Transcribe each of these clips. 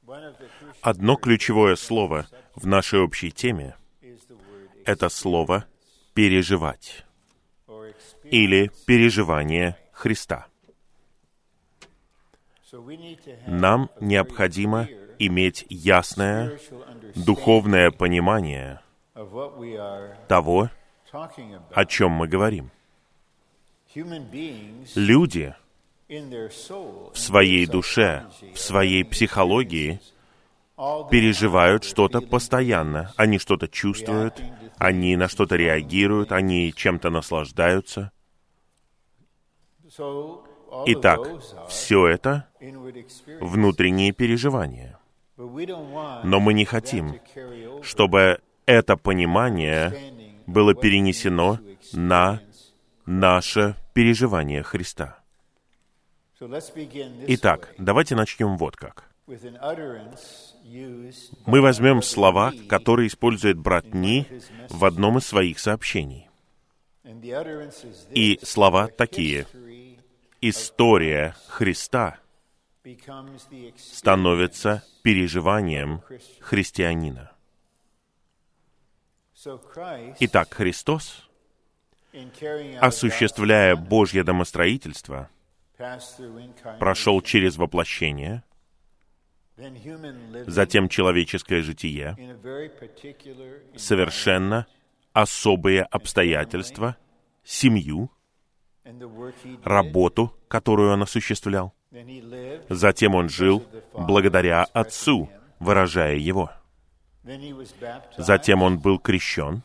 Одно ключевое слово в нашей общей теме — это слово «переживать» или «переживание Христа». Нам необходимо иметь ясное духовное понимание того, о чем мы говорим. Люди в своей душе, в своей психологии переживают что-то постоянно. Они что-то чувствуют, они на что-то реагируют, они чем-то наслаждаются. Итак, все это внутренние переживания. Но мы не хотим, чтобы это понимание было перенесено на наше переживание Христа. Итак, давайте начнем вот как. Мы возьмем слова, которые использует брат Ни в одном из своих сообщений. И слова такие: «История Христа становится переживанием христианина». Итак, Христос, осуществляя Божье домостроительство, прошел через воплощение, затем человеческое житие, совершенно особые обстоятельства, семью, работу, которую он осуществлял. Затем он жил благодаря Отцу, выражая Его. Затем он был крещен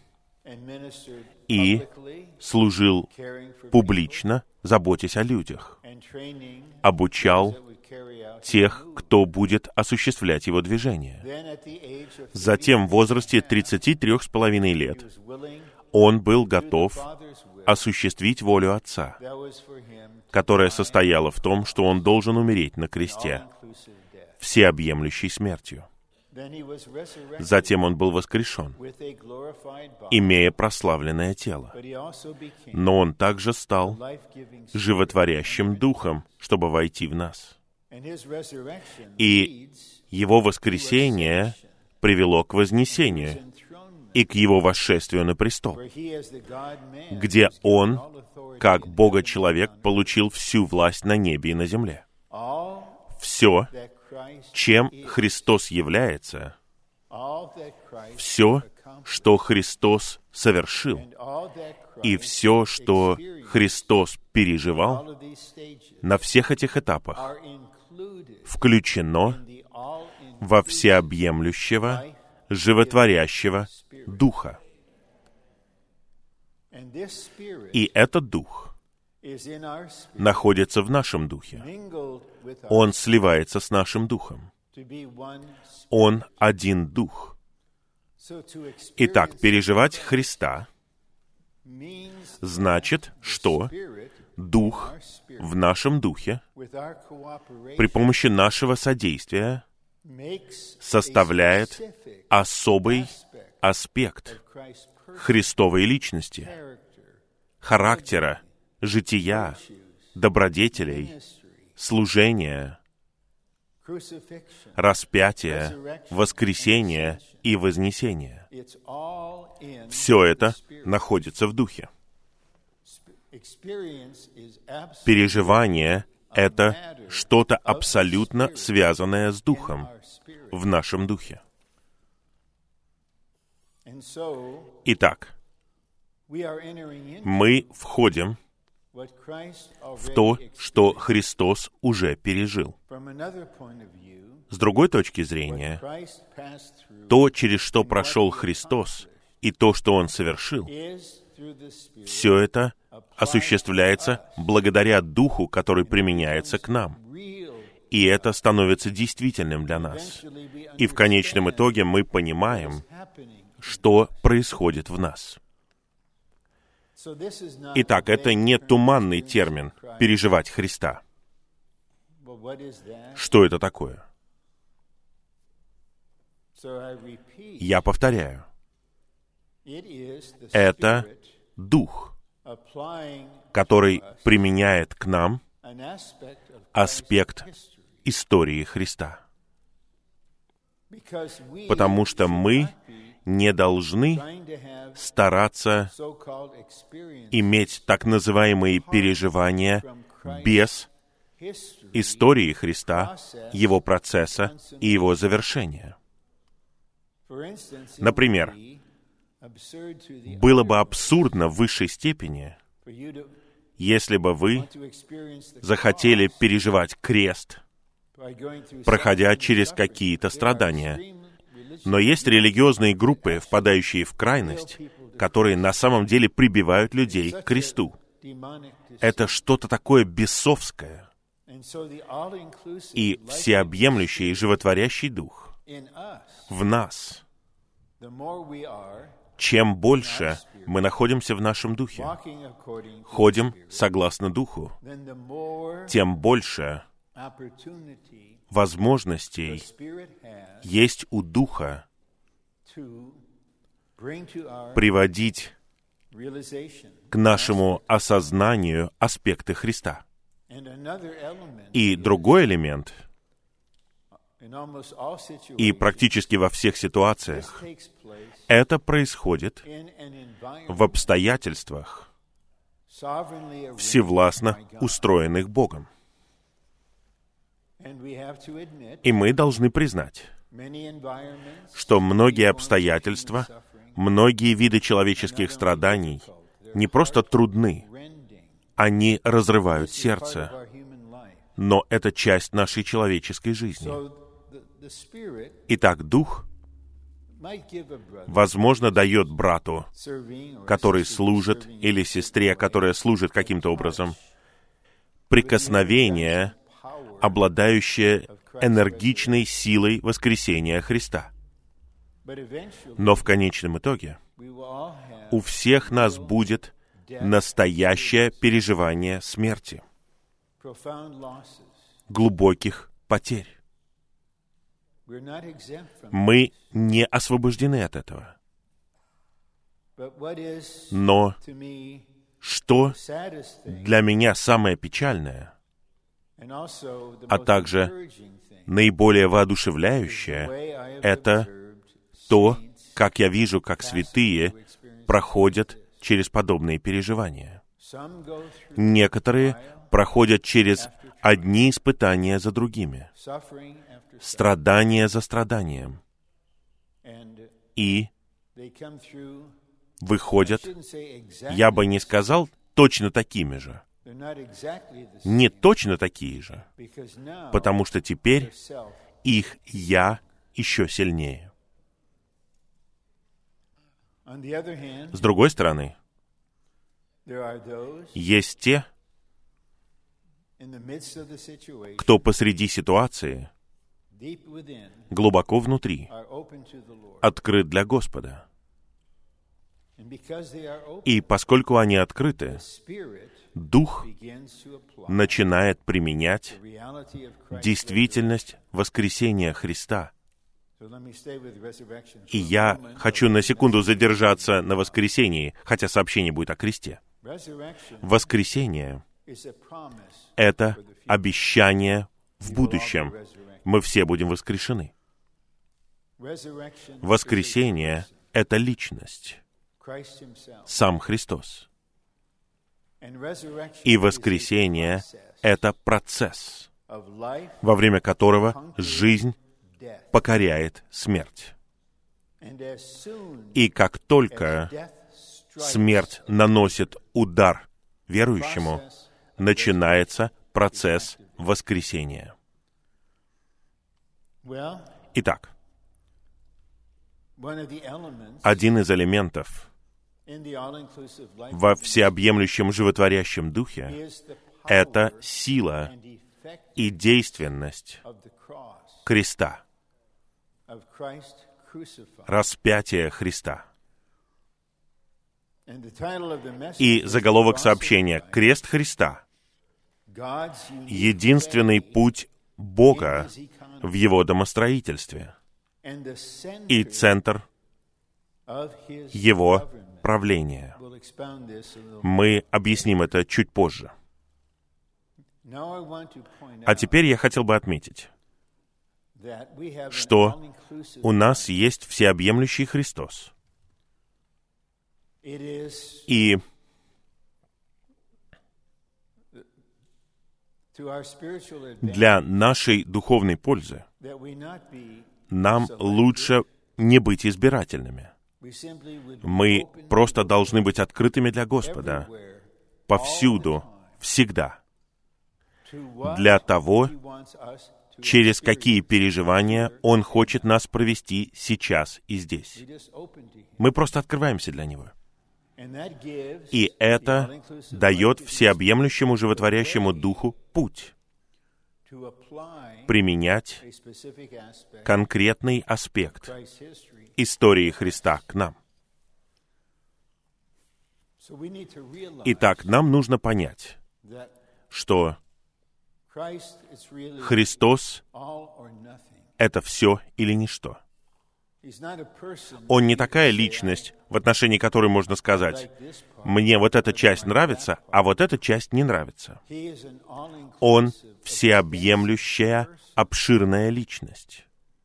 и служил публично, заботясь о людях, обучал тех, кто будет осуществлять его движение. Затем в возрасте 33,5 лет он был готов осуществить волю Отца, которая состояла в том, что он должен умереть на кресте, всеобъемлющей смертью. Затем он был воскрешен, имея прославленное тело. Но он также стал животворящим духом, чтобы войти в нас. И его воскресение привело к вознесению и к его восшествию на престол, где он, как Бога-человек, получил всю власть на небе и на земле. Все, чем Христос является, все, что Христос совершил, и все, что Христос переживал, на всех этих этапах включено во всеобъемлющего, животворящего Духа. И этот Дух находится в нашем Духе. Он сливается с нашим Духом. Он один Дух. Итак, переживать Христа значит, что Дух в нашем Духе при помощи нашего содействия составляет особый аспект Христовой личности, характера, жития, добродетелей, служения, распятия, воскресения и вознесения. Все это находится в Духе. Переживание — это что-то абсолютно связанное с Духом, в нашем Духе. Итак, мы входим в то, что Христос уже пережил. С другой точки зрения, то, через что прошел Христос, и то, что Он совершил, все это осуществляется благодаря Духу, который применяется к нам. И это становится действительным для нас. И в конечном итоге мы понимаем, что происходит в нас. Итак, это не туманный термин «переживать Христа». Что это такое? Я повторяю. Это Дух, который применяет к нам аспект истории Христа. потому что мы не должны стараться иметь так называемые переживания без истории Христа, Его процесса и Его завершения. Например, было бы абсурдно в высшей степени, если бы вы захотели переживать крест, проходя через какие-то страдания. Но есть религиозные группы, впадающие в крайность, которые на самом деле прибивают людей к кресту. Это что-то такое бесовское. И всеобъемлющий и животворящий дух в нас. Чем больше мы находимся в нашем духе, ходим согласно духу, тем больше возможностей есть у Духа приводить к нашему осознанию аспекты Христа. И другой элемент, и практически во всех ситуациях, это происходит в обстоятельствах, всевластно устроенных Богом. И мы должны признать, что многие обстоятельства, многие виды человеческих страданий не просто трудны, они разрывают сердце, но это часть нашей человеческой жизни. Итак, Дух, возможно, дает брату, который служит, или сестре, которая служит каким-то образом, прикосновение, обладающее энергичной силой воскресения Христа. Но в конечном итоге у всех нас будет настоящее переживание смерти, глубоких потерь. Мы не освобождены от этого. Но что для меня самое печальное, а также наиболее воодушевляющее, это то, как я вижу, как святые проходят через подобные переживания. Некоторые проходят через одни испытания за другими, страдание за страданием, и выходят, я бы не сказал, точно такими же. Не точно такие же, потому что теперь их «я» еще сильнее. С другой стороны, есть те, кто посреди ситуации, глубоко внутри, открыт для Господа. И поскольку они открыты, Дух начинает применять действительность воскресения Христа. И я хочу на секунду задержаться на воскресении, хотя сообщение будет о кресте. Воскресение — это обещание в будущем. Мы все будем воскрешены. Воскресение — это личность, сам Христос. И воскресение — это процесс, во время которого жизнь покоряет смерть. И как только смерть наносит удар верующему, начинается процесс воскресения. Итак, один из элементов во всеобъемлющем животворящем духе — это сила и действенность креста, распятия Христа. И заголовок сообщения — «Крест Христа» — единственный путь Бога в Его домостроительстве и центр Его правления. Мы объясним это чуть позже. А теперь я хотел бы отметить, что у нас есть всеобъемлющий Христос. И для нашей духовной пользы нам лучше не быть избирательными. Мы просто должны быть открытыми для Господа повсюду, всегда, для того, через какие переживания Он хочет нас провести сейчас и здесь. Мы просто открываемся для Него. И это дает всеобъемлющему животворящему Духу путь применять конкретный аспект истории Христа к нам. Итак, нам нужно понять, что Христос — это все или ничто. Он не такая личность, в отношении которой можно сказать: «Мне вот эта часть нравится, а вот эта часть не нравится». Он всеобъемлющая, обширная личность.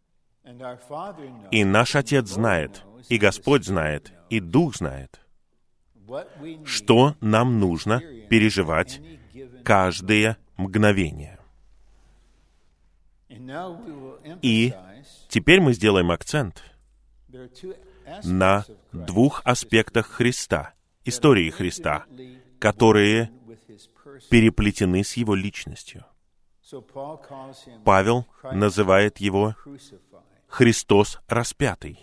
И наш Отец знает, и Господь знает, и Дух знает, что нам нужно переживать каждое мгновение. И теперь мы сделаем акцент на двух аспектах Христа, истории Христа, которые переплетены с Его личностью. Павел называет Его Христос распятый.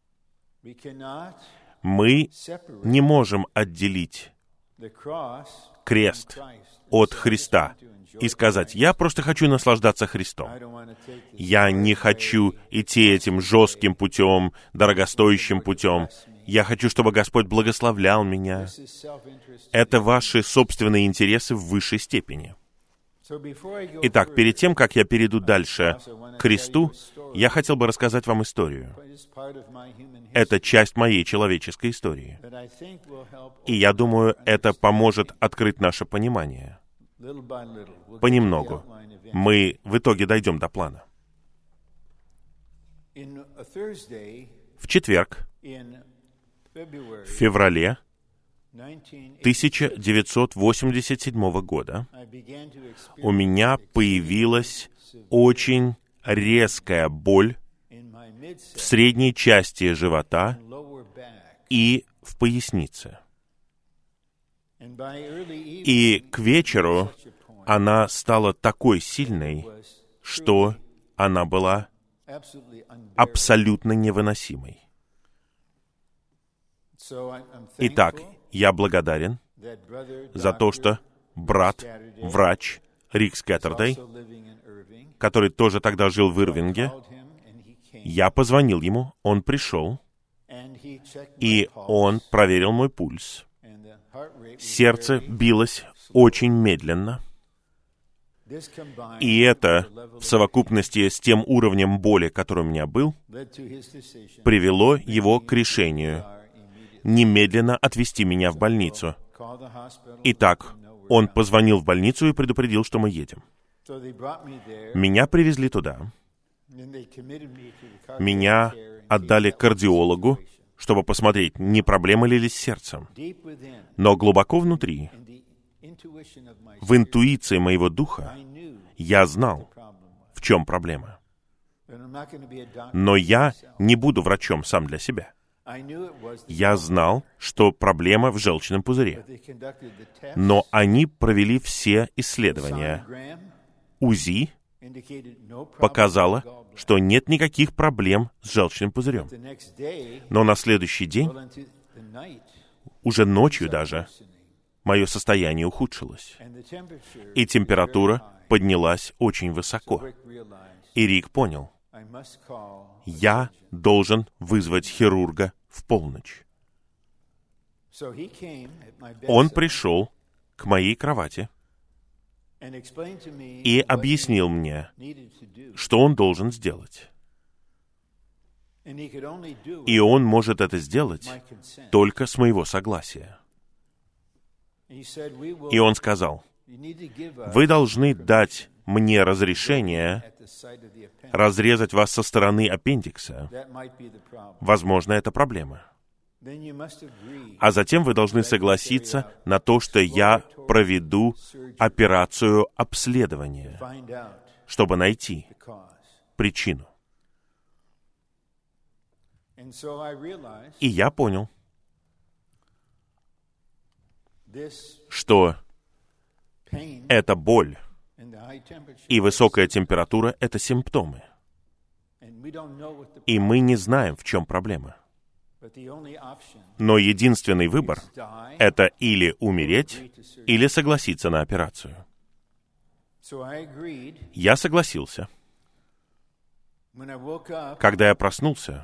Мы не можем отделить крест от Христа и сказать: «Я просто хочу наслаждаться Христом. Я не хочу идти этим жестким путем, дорогостоящим путем. Я хочу, чтобы Господь благословлял меня». Это ваши собственные интересы в высшей степени. Итак, перед тем, как я перейду дальше к кресту, я хотел бы рассказать вам историю. Это часть моей человеческой истории. И я думаю, это поможет открыть наше понимание. Понемногу. Мы в итоге дойдем до плана. В четверг, в феврале 1987 года, у меня появилась очень резкая боль в средней части живота и в пояснице. И к вечеру она стала такой сильной, что она была абсолютно невыносимой. Итак, я благодарен за то, что брат, врач Рик Скаттердей, который тоже тогда жил в Ирвинге, я позвонил ему, он пришел, и он проверил мой пульс. Сердце билось очень медленно, и это, в совокупности с тем уровнем боли, который у меня был, привело его к решению немедленно отвезти меня в больницу. Итак, он позвонил в больницу и предупредил, что мы едем. Меня привезли туда. Меня отдали кардиологу, чтобы посмотреть, не проблема ли с сердцем. Но глубоко внутри, в интуиции моего духа, я знал, в чем проблема. Но я не буду врачом сам для себя. Я знал, что проблема в желчном пузыре. Но они провели все исследования. УЗИ показало, что нет никаких проблем с желчным пузырем. Но на следующий день, уже ночью даже, мое состояние ухудшилось. И температура поднялась очень высоко. И Рик понял, я должен вызвать хирурга в полночь. Он пришел к моей кровати и объяснил мне, что он должен сделать. И он может это сделать только с моего согласия. И он сказал: «Вы должны дать мне разрешение разрезать вас со стороны аппендикса. Возможно, это проблема. А затем вы должны согласиться на то, что я проведу операцию обследования, чтобы найти причину. И я понял, что эта боль и высокая температура — это симптомы. И мы не знаем, в чем проблема. Но единственный выбор — это или умереть, или согласиться на операцию. Я согласился. Когда я проснулся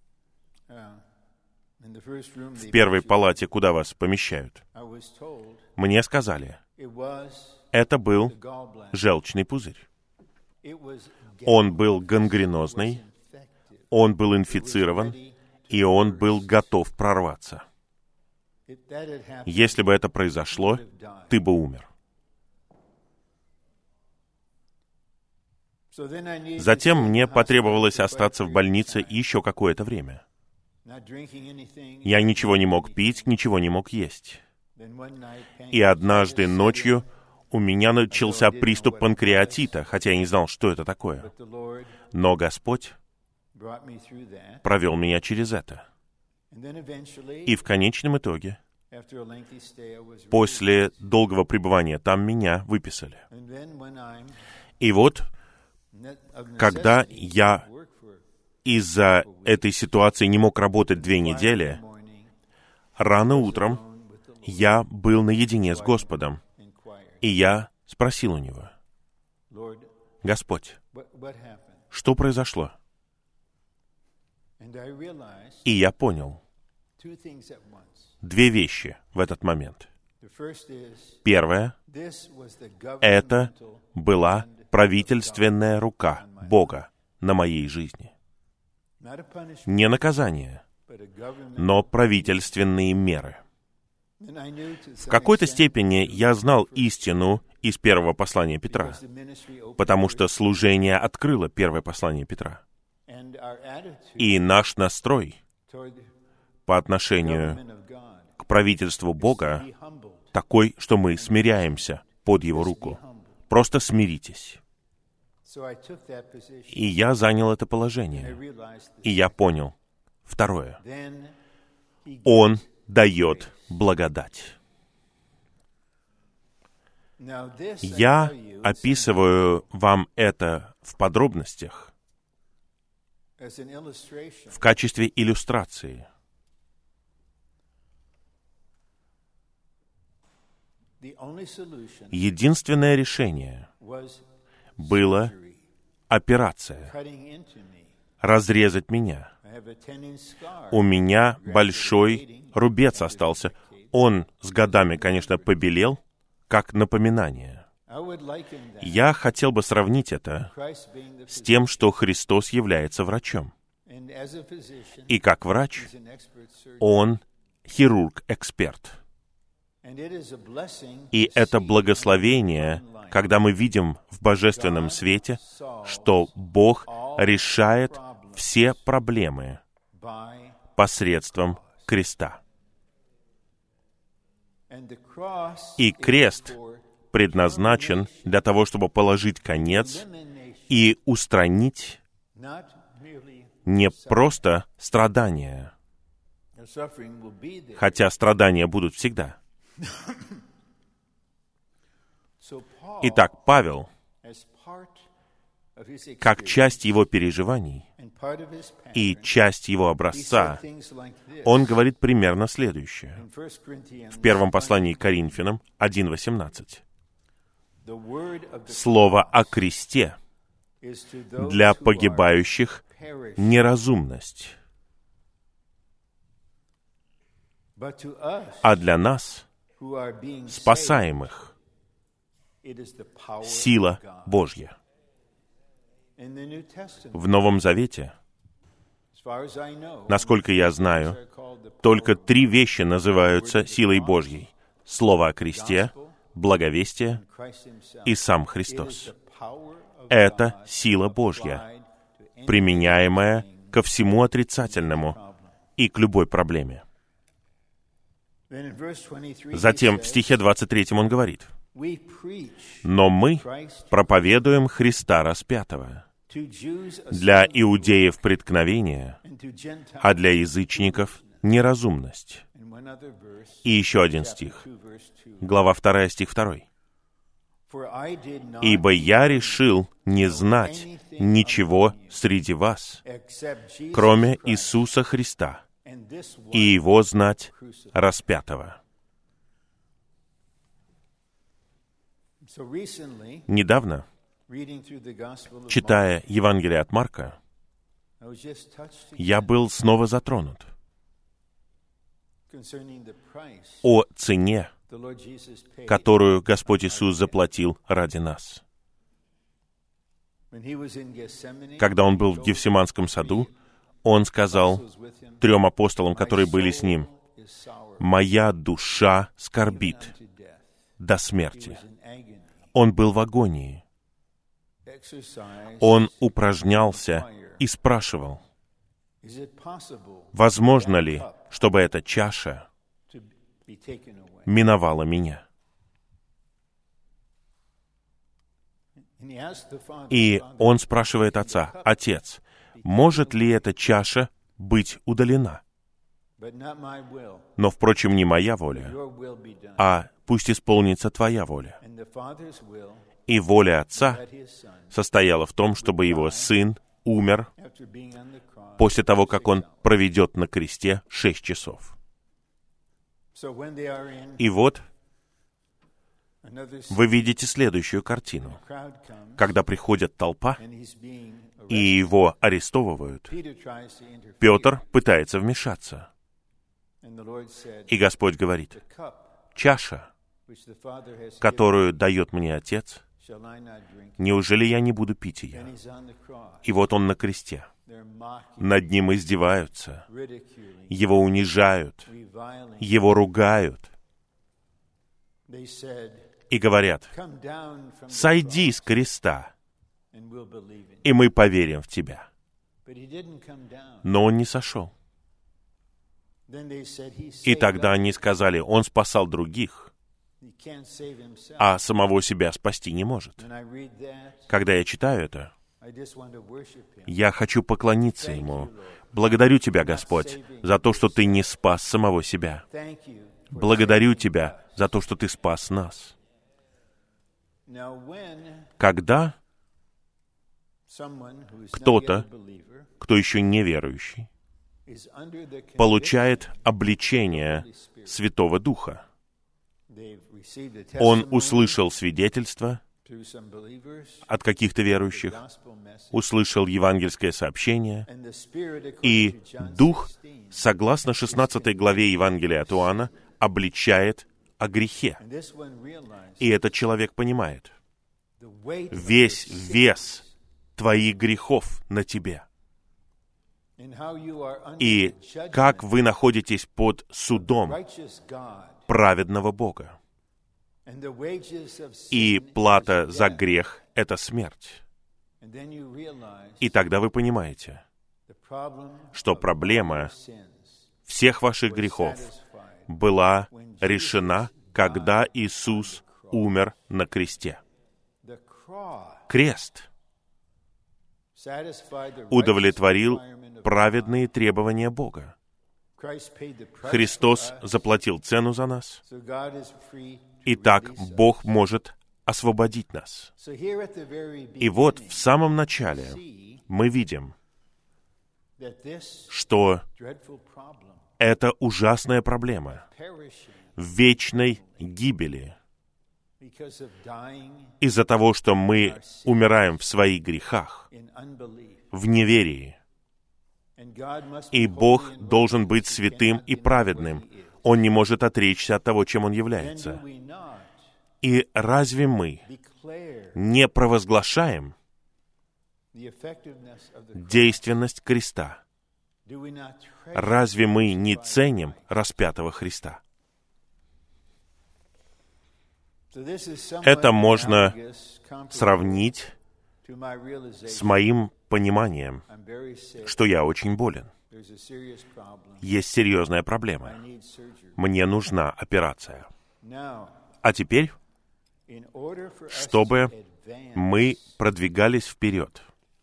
в первой палате, куда вас помещают, мне сказали, это был желчный пузырь. Он был гангренозный, он был инфицирован, и он был готов прорваться. Если бы это произошло, ты бы умер. Затем мне потребовалось остаться в больнице еще какое-то время. Я ничего не мог пить, ничего не мог есть. И однажды ночью у меня начался приступ панкреатита, хотя я не знал, что это такое. Но Господь провел меня через это. И в конечном итоге, после долгого пребывания там, меня выписали. И вот, когда я из-за этой ситуации не мог работать 2 недели, рано утром я был наедине с Господом, и я спросил у Него: «Господь, что произошло?» И я понял 2 вещи в этот момент. Первое — это была правительственная рука Бога на моей жизни. Не наказание, но правительственные меры. В какой-то степени я знал истину из первого послания Петра, потому что служение открыло первое послание Петра. И наш настрой по отношению к правительству Бога такой, что мы смиряемся под Его руку. Просто смиритесь. И я занял это положение. И я понял. Второе. Он дает благодать. Я описываю вам это в подробностях в качестве иллюстрации. Единственное решение было операция, разрезать меня. У меня большой рубец остался. Он с годами, конечно, побелел, как напоминание. Я хотел бы сравнить это с тем, что Христос является врачом. И как врач, Он хирург-эксперт. И это благословение, когда мы видим в божественном свете, что Бог решает все проблемы посредством креста. И крест предназначен для того, чтобы положить конец и устранить не просто страдания, хотя страдания будут всегда. Итак, Павел, как часть его переживаний и часть его образца, он говорит примерно следующее. В первом послании к Коринфянам 1:18. Слово о кресте для погибающих — неразумность, а для нас, спасаемых, сила Божья. В Новом Завете, насколько я знаю, только 3 вещи называются силой Божьей: Слово о кресте, благовестие и сам Христос. Это сила Божья, применяемая ко всему отрицательному и к любой проблеме. Затем в стихе 23 он говорит: «Но мы проповедуем Христа распятого, для иудеев преткновение, а для язычников неразумность». И еще один стих, глава 2, стих 2. «Ибо я решил не знать ничего среди вас, кроме Иисуса Христа, и Его знать распятого». Недавно, читая Евангелие от Марка, я был снова затронут о цене, которую Господь Иисус заплатил ради нас. Когда Он был в Гефсиманском саду, Он сказал 3 апостолам, которые были с Ним: «Моя душа скорбит до смерти». Он был в агонии. Он упражнялся и спрашивал: возможно ли, чтобы эта чаша миновала меня? И он спрашивает Отца: «Отец, может ли эта чаша быть удалена? Но, впрочем, не моя воля, а пусть исполнится Твоя воля». И воля Отца состояла в том, чтобы Его Сын умер после того, как Он проведет на кресте 6 часов. И вот вы видите следующую картину. Когда приходит толпа, и Его арестовывают, Петр пытается вмешаться. И Господь говорит: «Чаша, которую дает мне Отец, неужели я не буду пить ее?» И вот Он на кресте. Над Ним издеваются, Его унижают, Его ругают. И говорят: «Сойди с креста, и мы поверим в Тебя». Но Он не сошел. И тогда они сказали: «Он спасал других, а самого себя спасти не может». Когда я читаю это, я хочу поклониться Ему. Благодарю Тебя, Господь, за то, что Ты не спас самого себя. Благодарю Тебя за то, что Ты спас нас. Когда кто-то, кто еще не верующий, получает обличение Святого Духа, он услышал свидетельство от каких-то верующих, услышал евангельское сообщение, и Дух, согласно 16 главе Евангелия от Иоанна, обличает о грехе. И этот человек понимает: весь вес твоих грехов на тебе. И как вы находитесь под судом праведного Бога. И плата за грех — это смерть. И тогда вы понимаете, что проблема всех ваших грехов была решена, когда Иисус умер на кресте. Крест удовлетворил праведные требования Бога. Христос заплатил цену за нас. Итак, Бог может освободить нас. И вот в самом начале мы видим, что это ужасная проблема вечной гибели из-за того, что мы умираем в своих грехах, в неверии. И Бог должен быть святым и праведным. Он не может отречься от того, чем Он является. И разве мы не провозглашаем действенность креста? Разве мы не ценим распятого Христа? Это можно сравнить с моим пониманием, что я очень болен. Есть серьезная проблема. Мне нужна операция. А теперь, чтобы мы продвигались вперед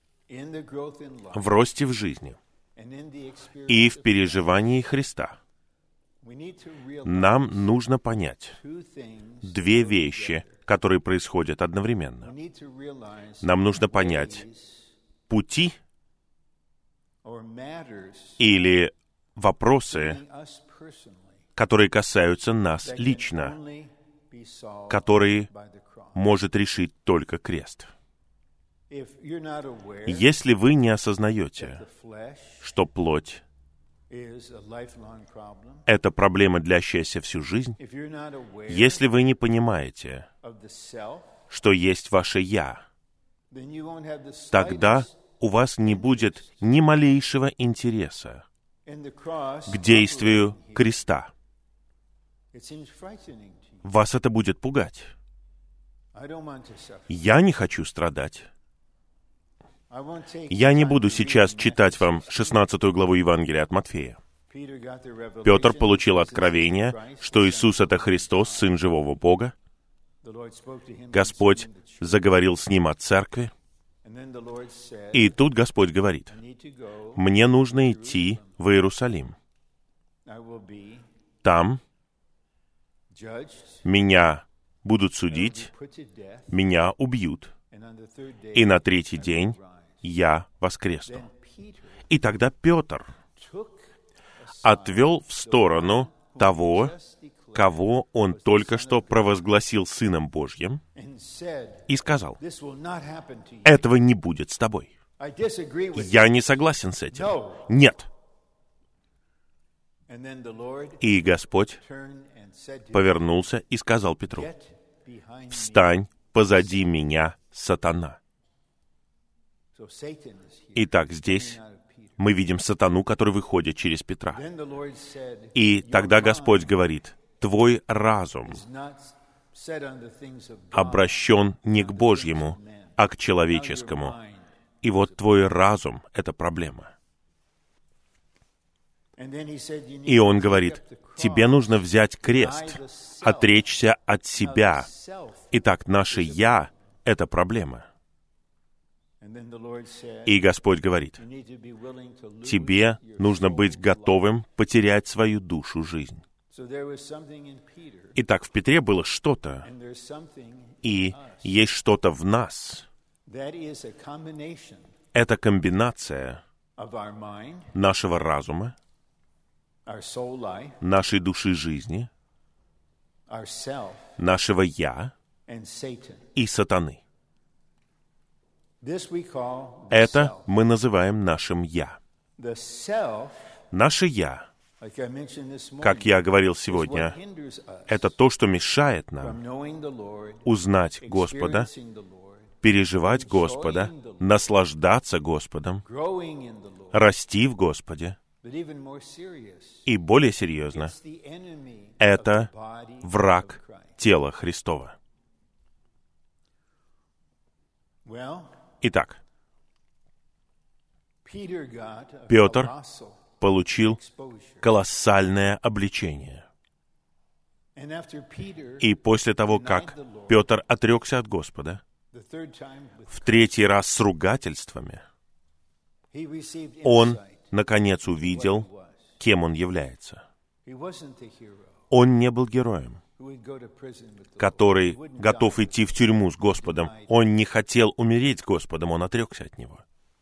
в росте в жизни и в переживании Христа, нам нужно понять две вещи, которые происходят одновременно. Нам нужно понять пути или вопросы, которые касаются нас лично, которые может решить только крест. Если вы не осознаете, что плоть — это проблема, длящаяся всю жизнь, если вы не понимаете, что есть ваше «я», тогда у вас не будет ни малейшего интереса к действию креста. Вас это будет пугать. Я не хочу страдать. Я не буду сейчас читать вам 16 главу Евангелия от Матфея. Петр получил откровение, что Иисус — это Христос, Сын живого Бога. Господь заговорил с ним о церкви. И тут Господь говорит: «Мне нужно идти в Иерусалим. Там меня будут судить, меня убьют, и на третий день я воскресну». И тогда Петр отвел в сторону того, кого он только что провозгласил Сыном Божьим, и сказал: «Этого не будет с тобой. Я не согласен с этим. Нет». И Господь повернулся и сказал Петру: «Встань позади меня, сатана». Итак, здесь мы видим сатану, который выходит через Петра. И тогда Господь говорит: «Твой разум обращен не к Божьему, а к человеческому. И вот твой разум — это проблема». И Он говорит: «Тебе нужно взять крест, отречься от себя». Итак, наше «я» — это проблема. И Господь говорит: «Тебе нужно быть готовым потерять свою душу, жизнь». Итак, в Петре было что-то, и есть что-то в нас. Это комбинация нашего разума, нашей души жизни, нашего «я» и сатаны. Это мы называем нашим «я». Наше «я», как я говорил сегодня, это то, что мешает нам узнать Господа, переживать Господа, наслаждаться Господом, расти в Господе. И более серьезно, это враг тела Христова. Итак, Петр получил колоссальное обличение. И после того, как Петр отрекся от Господа, в третий раз с ругательствами, он, наконец, увидел, кем он является. Он не был героем, который готов идти в тюрьму с Господом. Он не хотел умереть с Господом, он отрекся от Него.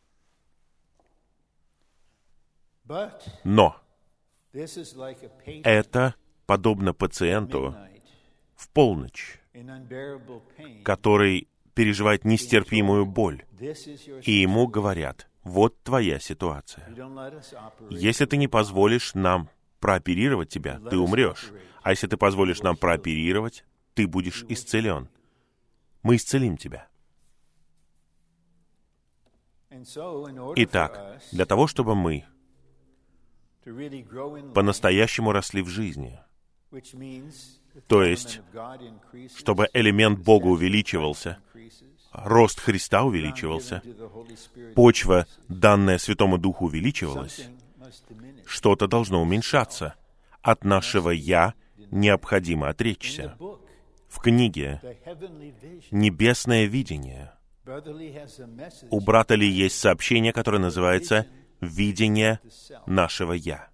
Но это подобно пациенту в полночь, который переживает нестерпимую боль, и ему говорят: «Вот твоя ситуация. Если ты не позволишь нам прооперировать тебя, ты умрешь. А если ты позволишь нам прооперировать, ты будешь исцелен. Мы исцелим тебя». Итак, для того, чтобы мы по-настоящему росли в жизни, То есть, чтобы элемент Бога увеличивался, рост Христа увеличивался, почва, данная Святому Духу, увеличивалась, что-то должно уменьшаться. От нашего «я» необходимо отречься. В книге «Небесное видение» у брата Ли есть сообщение, которое называется «Видение нашего «я».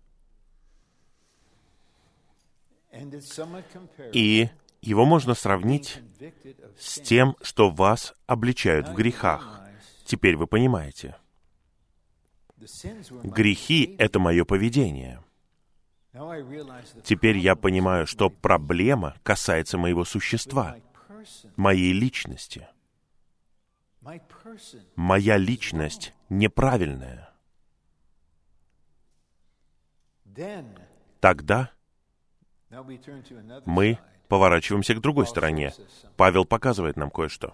И его можно сравнить с тем, что вас обличают в грехах. Теперь вы понимаете. Грехи — это мое поведение. Теперь я понимаю, что проблема касается моего существа, моей личности. Моя личность неправильная. Тогда мы поворачиваемся к другой стороне. Павел показывает нам кое-что.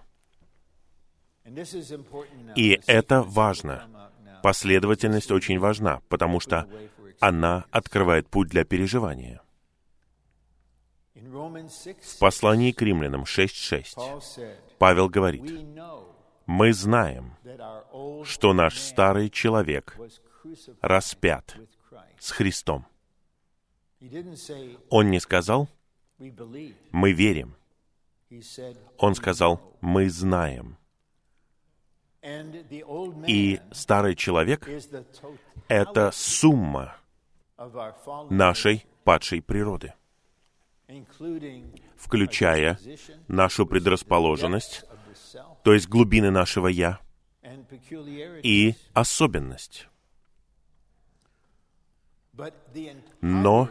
И это важно. Последовательность очень важна, потому что она открывает путь для переживания. В послании к Римлянам 6:6 Павел говорит: «Мы знаем, что наш старый человек распят с Христом». Он не сказал «мы верим». Он сказал «мы знаем». И старый человек — это сумма нашей падшей природы, включая нашу предрасположенность, то есть глубины нашего «я», и особенность. Но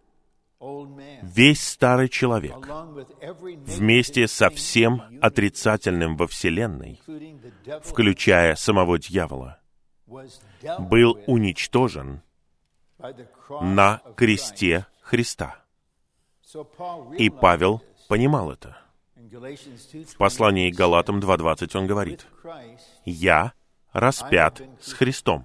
весь старый человек, вместе со всем отрицательным во Вселенной, включая самого дьявола, был уничтожен на кресте Христа. И Павел понимал это. В послании к Галатам 2:20 он говорит: «Я распят с Христом».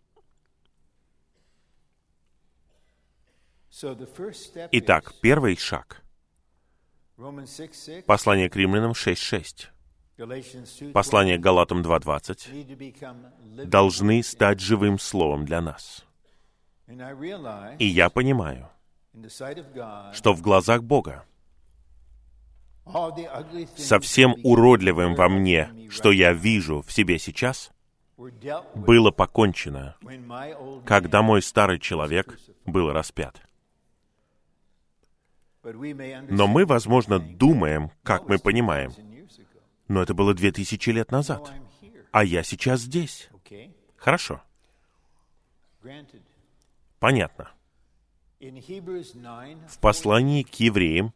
Итак, первый шаг. Послание к Римлянам 6:6. Послание к Галатам 2:20 должны стать живым словом для нас. И я понимаю, что в глазах Бога со всем уродливым во мне, что я вижу в себе сейчас, было покончено, когда мой старый человек был распят. Но мы, возможно, думаем, как мы понимаем. Но это было 2000 лет назад. А я сейчас здесь. Хорошо. Понятно. В послании к Евреям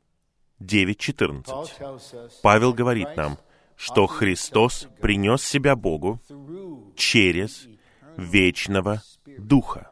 9:14 Павел говорит нам, что Христос принес себя Богу через вечного Духа.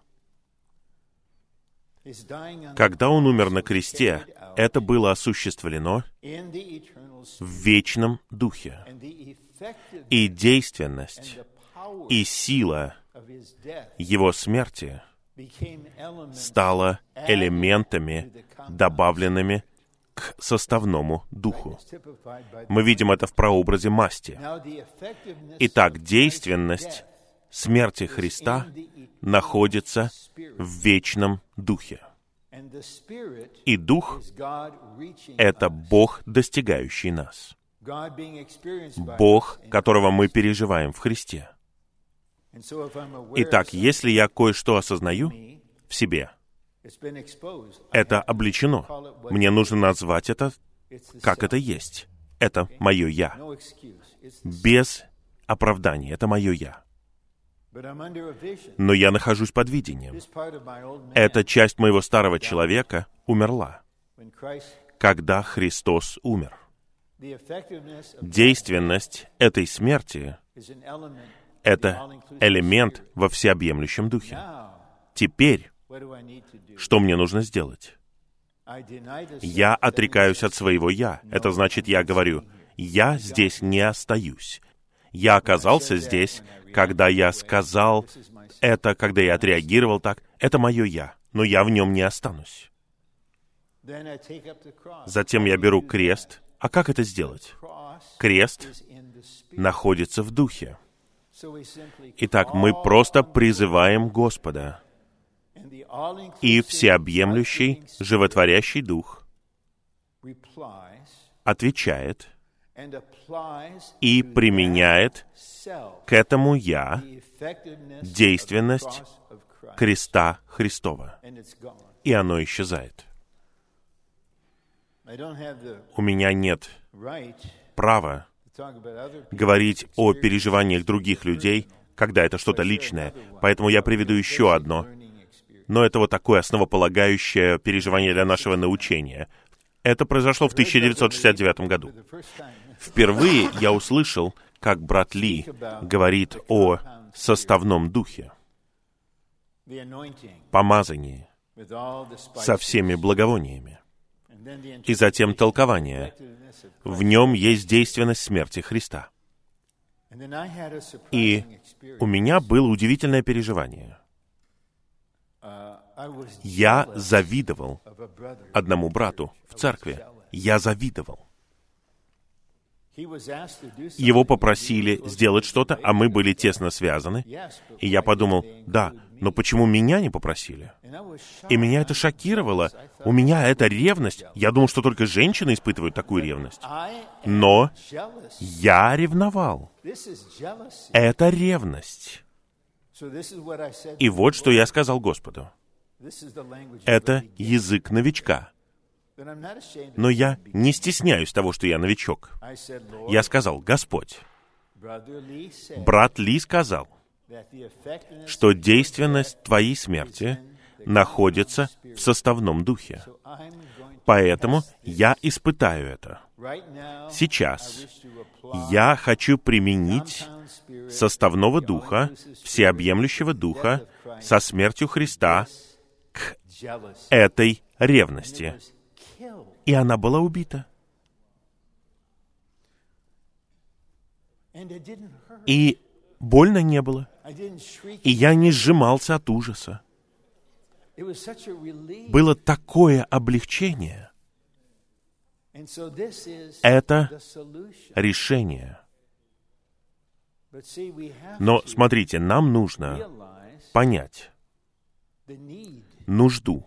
Когда Он умер на кресте, это было осуществлено в вечном Духе. И действенность, и сила Его смерти стала элементами, добавленными к составному Духу. Мы видим это в прообразе масти. Итак, действенность смерти Христа находится в вечном Духе. И Дух — это Бог, достигающий нас. Бог, которого мы переживаем в Христе. Итак, если я кое-что осознаю в себе, это обличено. Мне нужно назвать это, как это есть. Это мое «я». Без оправдания. Это мое «я». Но я нахожусь под видением. Эта часть моего старого человека умерла, когда Христос умер. Действенность этой смерти — это элемент во всеобъемлющем Духе. Теперь, что мне нужно сделать? Я отрекаюсь от своего «я». Это значит, я говорю: «Я здесь не остаюсь». Я оказался здесь, когда я сказал это, когда я отреагировал так. Это мое «я», но я в нем не останусь. Затем я беру крест. А как это сделать? Крест находится в Духе. Итак, мы просто призываем Господа. И всеобъемлющий, животворящий Дух отвечает и применяет к этому «я» действенность креста Христова. И оно исчезает. У меня нет права говорить о переживаниях других людей, когда это что-то личное. Поэтому я приведу еще одно. Но это вот такое основополагающее переживание для нашего научения. Это произошло в 1969 году. Впервые я услышал, как брат Ли говорит о составном духе, помазании, со всеми благовониями. И затем толкование. В нем есть действенность смерти Христа. И у меня было удивительное переживание. Я завидовал одному брату в церкви. Я завидовал. Его попросили сделать что-то, а мы были тесно связаны. И я подумал, да, но почему меня не попросили? И меня это шокировало. У меня это ревность. Я думал, что только женщины испытывают такую ревность. Но я ревновал. Это ревность. И вот что я сказал Господу. Это язык новичка. Но я не стесняюсь того, что я новичок. Я сказал, Господь, брат Ли сказал, что действенность Твоей смерти находится в составном духе. Поэтому я испытаю это. Сейчас я хочу применить составного духа, всеобъемлющего духа со смертью Христа к этой ревности. И она была убита. И больно не было. И я не сжимался от ужаса. Было такое облегчение. Это решение. Но смотрите, нам нужно понять нужду.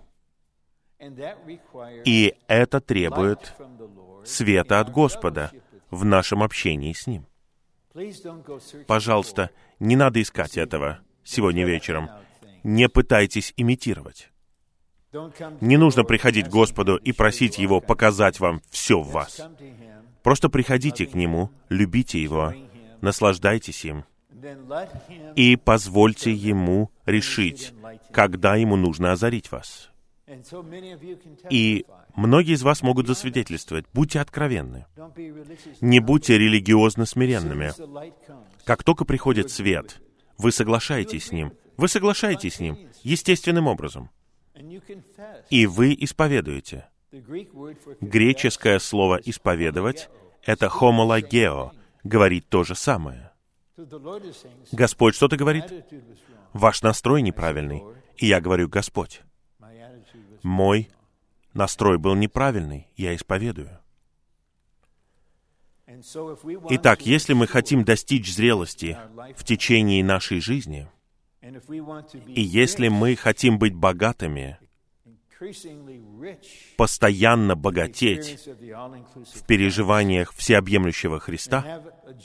И это требует света от Господа в нашем общении с Ним. Пожалуйста, не надо искать этого сегодня вечером. Не пытайтесь имитировать. Не нужно приходить к Господу и просить Его показать вам все в вас. Просто приходите к Нему, любите Его, наслаждайтесь им, и позвольте Ему решить, когда Ему нужно озарить вас. И многие из вас могут засвидетельствовать. Будьте откровенны. Не будьте религиозно смиренными. Как только приходит свет, вы соглашаетесь с Ним. Вы соглашаетесь с Ним естественным образом. И вы исповедуете. Греческое слово «исповедовать» — это «homologeo», говорит то же самое. Господь что-то говорит? Ваш настрой неправильный. И я говорю, Господь, мой настрой был неправильный, я исповедую. Итак, если мы хотим достичь зрелости в течение нашей жизни, и если мы хотим быть богатыми, постоянно богатеть в переживаниях всеобъемлющего Христа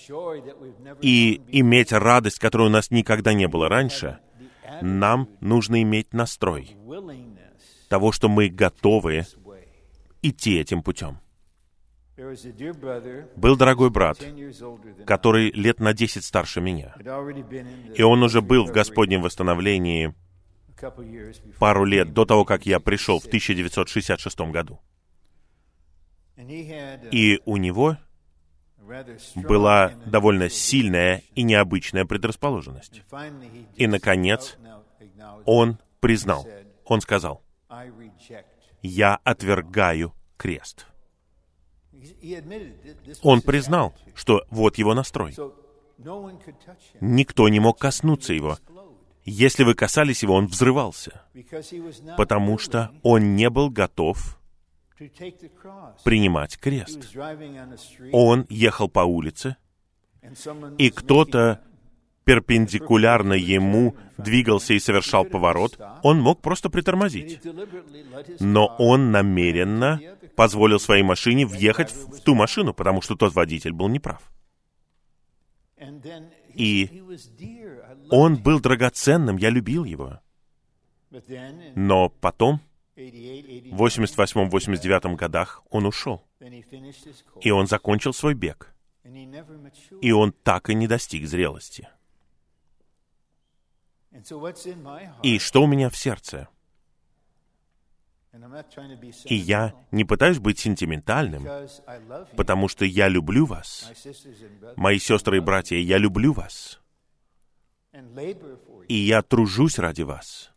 и иметь радость, которой у нас никогда не было раньше, нам нужно иметь настрой того, что мы готовы идти этим путем. Был дорогой брат, который лет на 10 старше меня, и он уже был в Господнем восстановлении пару лет до того, как я пришел в 1966 году. И у него была довольно сильная и необычная предрасположенность. И, наконец, он признал, он сказал, «Я отвергаю крест». Он признал, что вот его настрой. Никто не мог коснуться его. Если вы касались его, он взрывался, потому что он не был готов принимать крест. Он ехал по улице, и кто-то перпендикулярно ему двигался и совершал поворот, он мог просто притормозить. Но он намеренно позволил своей машине въехать в ту машину, потому что тот водитель был неправ. И он был драгоценным, я любил его. Но потом, в 88-89 годах, он ушел. И он закончил свой бег. И он так и не достиг зрелости. И что у меня в сердце? И я не пытаюсь быть сентиментальным, потому что я люблю вас. Мои сестры и братья, я люблю вас. И я тружусь ради вас.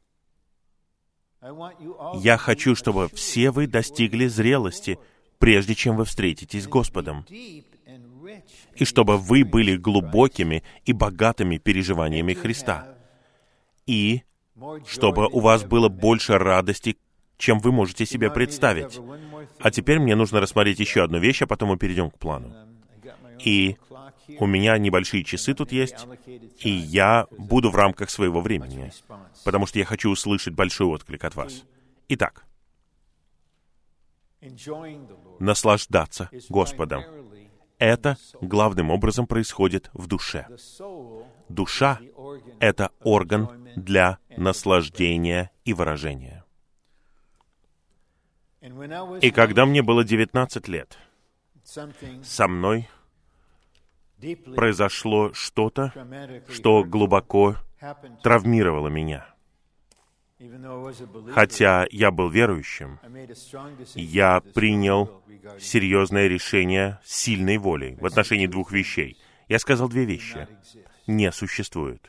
Я хочу, чтобы все вы достигли зрелости, прежде чем вы встретитесь с Господом. И чтобы вы были глубокими и богатыми переживаниями Христа. И чтобы у вас было больше радости, чем вы можете себе представить. А теперь мне нужно рассмотреть еще одну вещь, а потом мы перейдем к плану. И у меня небольшие часы тут есть, и я буду в рамках своего времени, потому что я хочу услышать большой отклик от вас. Итак, наслаждаться Господом. Это главным образом происходит в душе. Душа — это орган для наслаждения и выражения. И когда мне было 19 лет, со мной произошло что-то, что глубоко травмировало меня. Хотя я был верующим, я принял серьезное решение с сильной волей в отношении двух вещей. Я сказал две вещи. Не существует.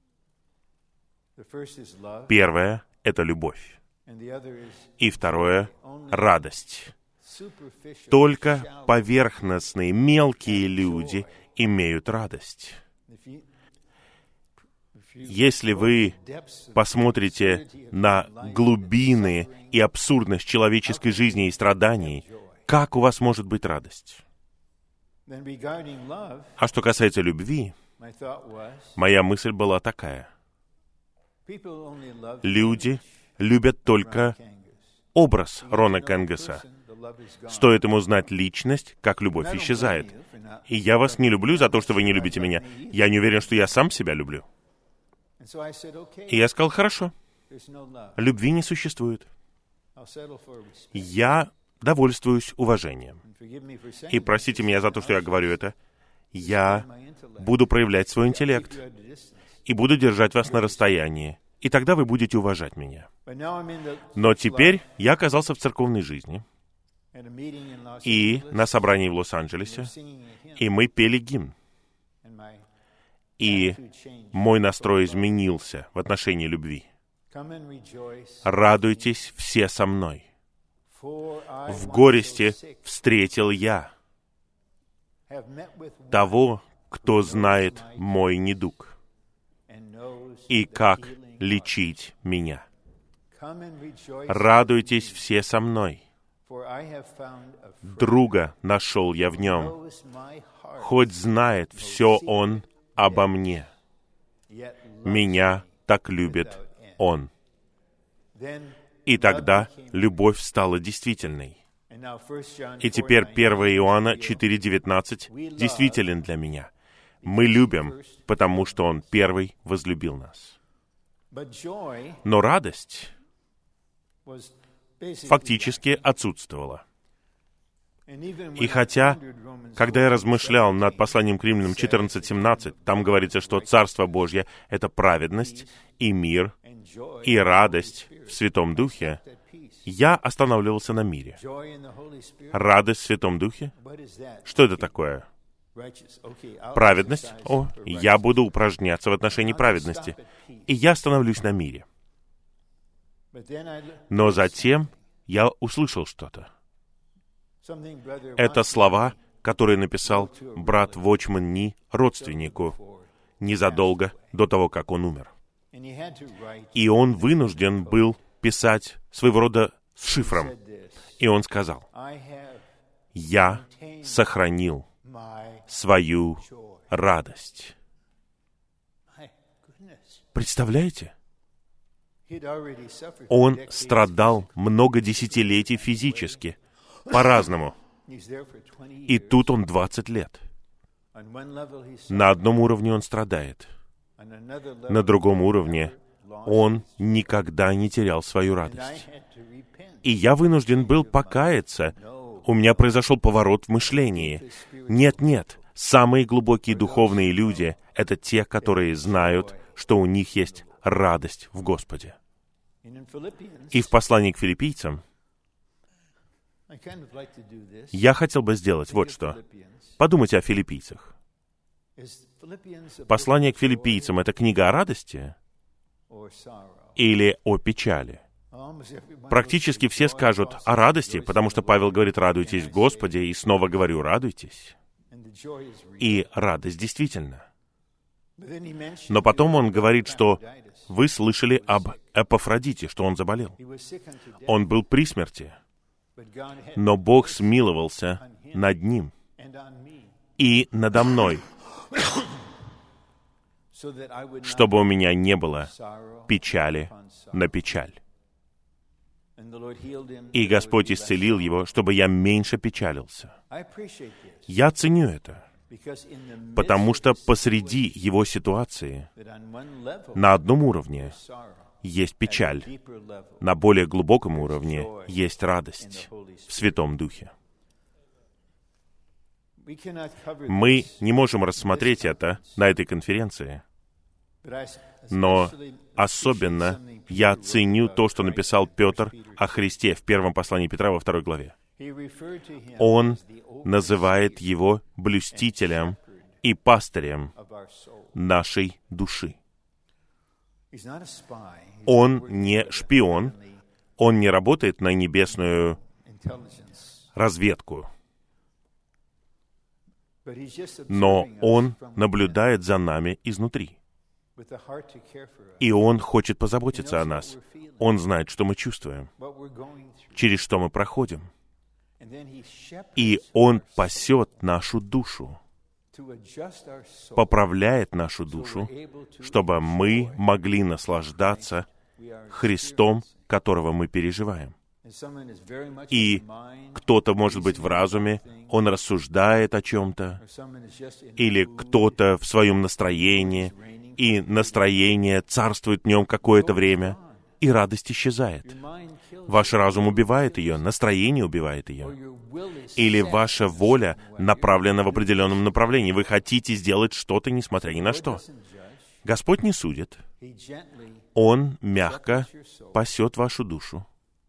Первое — это любовь. И второе — радость. Только поверхностные, мелкие люди имеют радость. Если вы посмотрите на глубины и абсурдность человеческой жизни и страданий, как у вас может быть радость? А что касается любви, моя мысль была такая. Люди любят только образ Рона Кенгаса. Стоит ему знать личность, как любовь исчезает. И я вас не люблю за то, что вы не любите меня. Я не уверен, что я сам себя люблю. И я сказал, хорошо, любви не существует. Я довольствуюсь уважением. И простите меня за то, что я говорю это. Я буду проявлять свой интеллект и буду держать вас на расстоянии. И тогда вы будете уважать меня. Но теперь я оказался в церковной жизни. И на собрании в Лос-Анджелесе. И мы пели гимн. И мой настрой изменился в отношении любви. Радуйтесь все со мной. В горести встретил я того, кто знает мой недуг и как лечить меня. Радуйтесь все со мной. Друга нашел я в нем, хоть знает все он обо мне. Меня так любит он. И тогда любовь стала действительной. И теперь 1 Иоанна 4:19 действителен для меня. Мы любим, потому что Он первый возлюбил нас. Но радость фактически отсутствовала. И хотя, когда я размышлял над посланием к Римлянам 14:17, там говорится, что Царство Божье — это праведность и мир, и радость в Святом Духе, я останавливался на мире. Радость в Святом Духе? Что это такое? Праведность? О, я буду упражняться в отношении праведности. И я остановлюсь на мире. Но затем я услышал что-то. Это слова, которые написал брат Вочман Ни родственнику незадолго до того, как он умер. И он вынужден был писать своего рода с шифром. И он сказал: «Я сохранил свою радость». Представляете? Он страдал много десятилетий физически, по-разному. И тут он 20 лет. На одном уровне он страдает. На другом уровне он никогда не терял свою радость. И я вынужден был покаяться. У меня произошел поворот в мышлении. Нет, самые глубокие духовные люди — это те, которые знают, что у них есть радость в Господе. И в послании к филиппийцам я хотел бы сделать вот что. Подумайте о филиппийцах. Послание к филиппийцам — это книга о радости или о печали? Практически все скажут о радости, потому что Павел говорит: «Радуйтесь в Господе», и снова говорю: «Радуйтесь». И радость действительно. Но потом он говорит, что вы слышали об Эпафродите, что он заболел. Он был при смерти, но Бог смиловался над ним и надо мной, чтобы у меня не было печали на печаль. И Господь исцелил его, чтобы я меньше печалился. Я ценю это, потому что посреди его ситуации на одном уровне есть печаль, на более глубоком уровне есть радость в Святом Духе. Мы не можем рассмотреть это на этой конференции, но особенно я ценю то, что написал Петр о Христе в первом послании Петра во 2 главе. Он называет его блюстителем и пастырем нашей души. Он не шпион, он не работает на небесную разведку, но он наблюдает за нами изнутри. И он хочет позаботиться о нас. Он знает, что мы чувствуем, через что мы проходим. И он пасет нашу душу, поправляет нашу душу, чтобы мы могли наслаждаться Христом, которого мы переживаем. И кто-то, может быть, в разуме, он рассуждает о чем-то, или кто-то в своем настроении, и настроение царствует в нем какое-то время, и радость исчезает. Ваш разум убивает ее, настроение убивает ее. Или ваша воля направлена в определенном направлении. Вы хотите сделать что-то, несмотря ни на что. Господь не судит. Он мягко пасет вашу душу.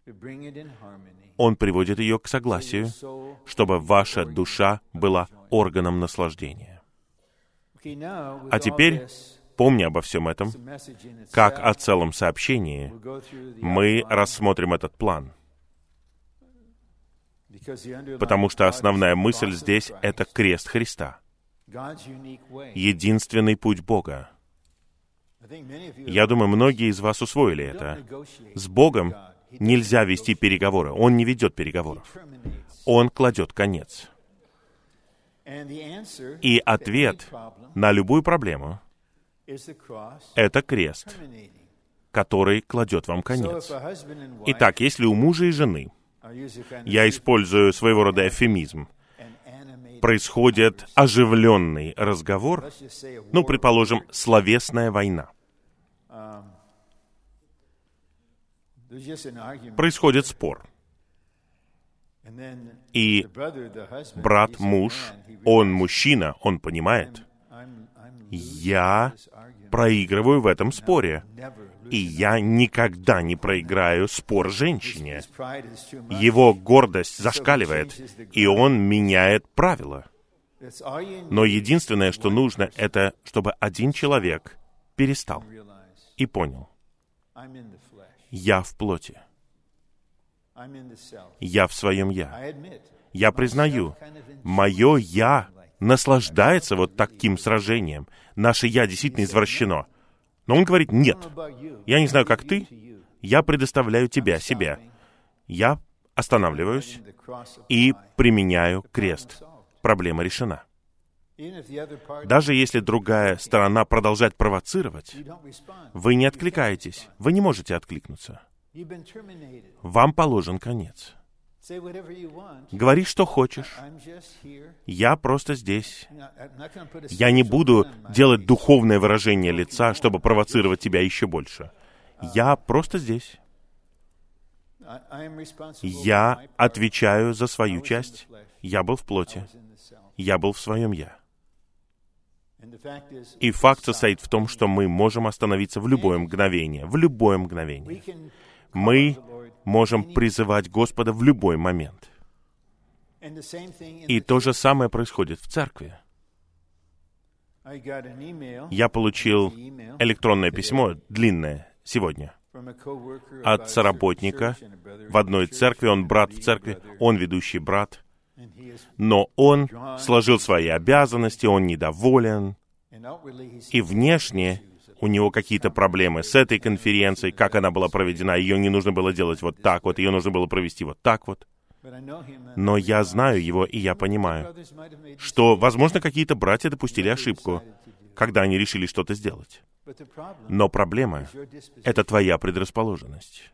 Он приводит ее к согласию, чтобы ваша душа была органом наслаждения. А теперь, помня обо всем этом, как о целом сообщении, мы рассмотрим этот план. Потому что основная мысль здесь — это крест Христа. Единственный путь Бога. Я думаю, многие из вас усвоили это. С Богом нельзя вести переговоры. Он не ведет переговоров. Он кладет конец. И ответ на любую проблему — это крест, который кладет вам конец. Итак, если у мужа и жены, я использую своего рода эвфемизм, происходит оживленный разговор, предположим, словесная война. Происходит спор. И брат, муж, он мужчина, он понимает, я проигрываю в этом споре. И я никогда не проиграю спор женщине. Его гордость зашкаливает, и он меняет правила. Но единственное, что нужно, это чтобы один человек перестал и понял: я в плоти. Я в своем «я». Я признаю, мое «я» наслаждается вот таким сражением. Наше «я» действительно извращено. Но он говорит: нет, я не знаю, как ты, я предоставляю тебя, себя. Я останавливаюсь и применяю крест. Проблема решена. Даже если другая сторона продолжает провоцировать, вы не откликаетесь, вы не можете откликнуться. Вам положен конец. Говори, что хочешь. Я просто здесь. Я не буду делать духовное выражение лица, чтобы провоцировать тебя еще больше. Я просто здесь. Я отвечаю за свою часть. Я был в плоти. Я был в своем «я». И факт состоит в том, что мы можем остановиться в любое мгновение. В любое мгновение. Мы можем призывать Господа в любой момент. И то же самое происходит в церкви. Я получил электронное письмо, длинное, сегодня, от соработника в одной церкви. Он брат в церкви, он ведущий брат. Но он сложил свои обязанности, он недоволен. И внешне у него какие-то проблемы с этой конференцией, как она была проведена. Ее не нужно было делать вот так вот, ее нужно было провести вот так вот. Но я знаю его, и я понимаю, что, возможно, какие-то братья допустили ошибку, когда они решили что-то сделать. Но проблема — это твоя предрасположенность.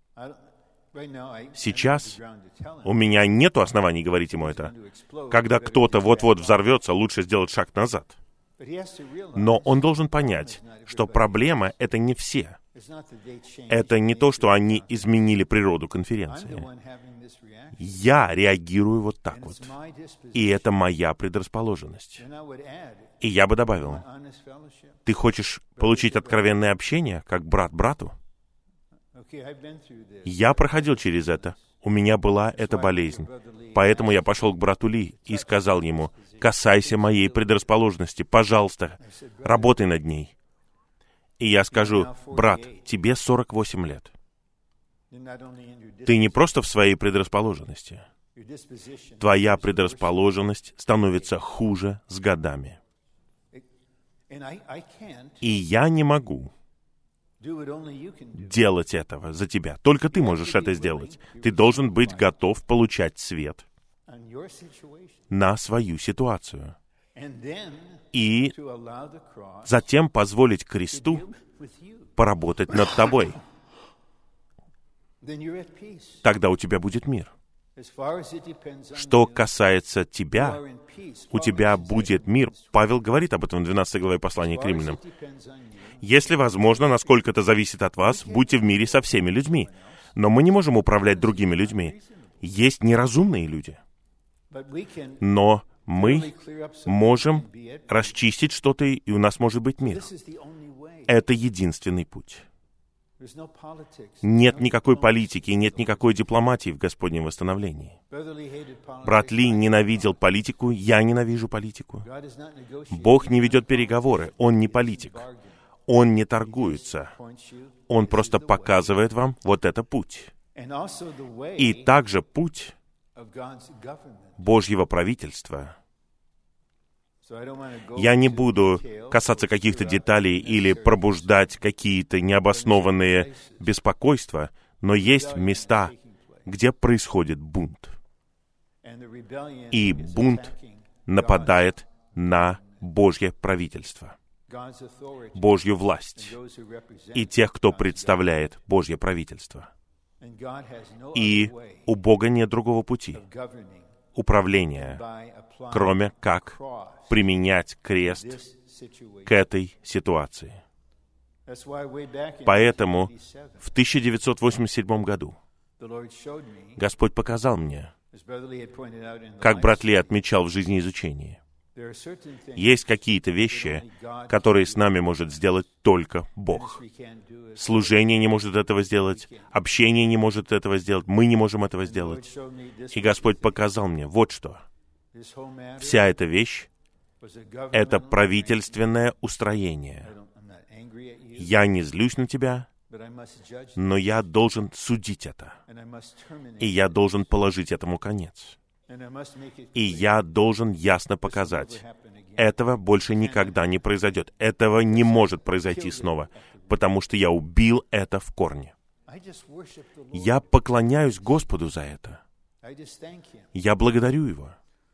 Сейчас у меня нет оснований говорить ему это. Когда кто-то вот-вот взорвется, лучше сделать шаг назад. Но он должен понять, что проблема — это не все. Это не то, что они изменили природу конференции. Я реагирую вот так вот. И это моя предрасположенность. И я бы добавил, ты хочешь получить откровенное общение, как брат брату? Я проходил через это. У меня была эта болезнь. Поэтому я пошел к брату Ли и сказал ему: касайся моей предрасположенности, пожалуйста, работай над ней. И я скажу: брат, тебе 48 лет. Ты не просто в своей предрасположенности. Твоя предрасположенность становится хуже с годами. И я не могу делать этого за тебя. Только ты можешь это сделать. Ты должен быть готов получать свет на свою ситуацию. И затем позволить кресту поработать над тобой. Тогда у тебя будет мир. Что касается тебя, у тебя будет мир. Павел говорит об этом в 12 главе послания к Римлянам. Если возможно, насколько это зависит от вас, будьте в мире со всеми людьми. Но мы не можем управлять другими людьми. Есть неразумные люди. Но мы можем расчистить что-то, и у нас может быть мир. Это единственный путь. Нет никакой политики, нет никакой дипломатии в Господнем восстановлении. Брат Ли ненавидел политику, я ненавижу политику. Бог не ведет переговоры, Он не политик. Он не торгуется. Он просто показывает вам вот это путь. И также путь Божьего правительства. Я не буду касаться каких-то деталей или пробуждать какие-то необоснованные беспокойства, но есть места, где происходит бунт. И бунт нападает на Божье правительство, Божью власть и тех, кто представляет Божье правительство. И у Бога нет другого пути управления, кроме как применять крест к этой ситуации. Поэтому в 1987 году Господь показал мне, как брат Ли отмечал в жизнеизучении, есть какие-то вещи, которые с нами может сделать только Бог. Служение не может этого сделать, общение не может этого сделать, мы не можем этого сделать. И Господь показал мне вот что. Вся эта вещь — это правительственное устроение. Я не злюсь на тебя, но я должен судить это. И я должен положить этому конец. И я должен ясно показать, этого больше никогда не произойдет. Этого не может произойти снова, потому что я убил это в корне. Я поклоняюсь Господу за это. Я благодарю Его.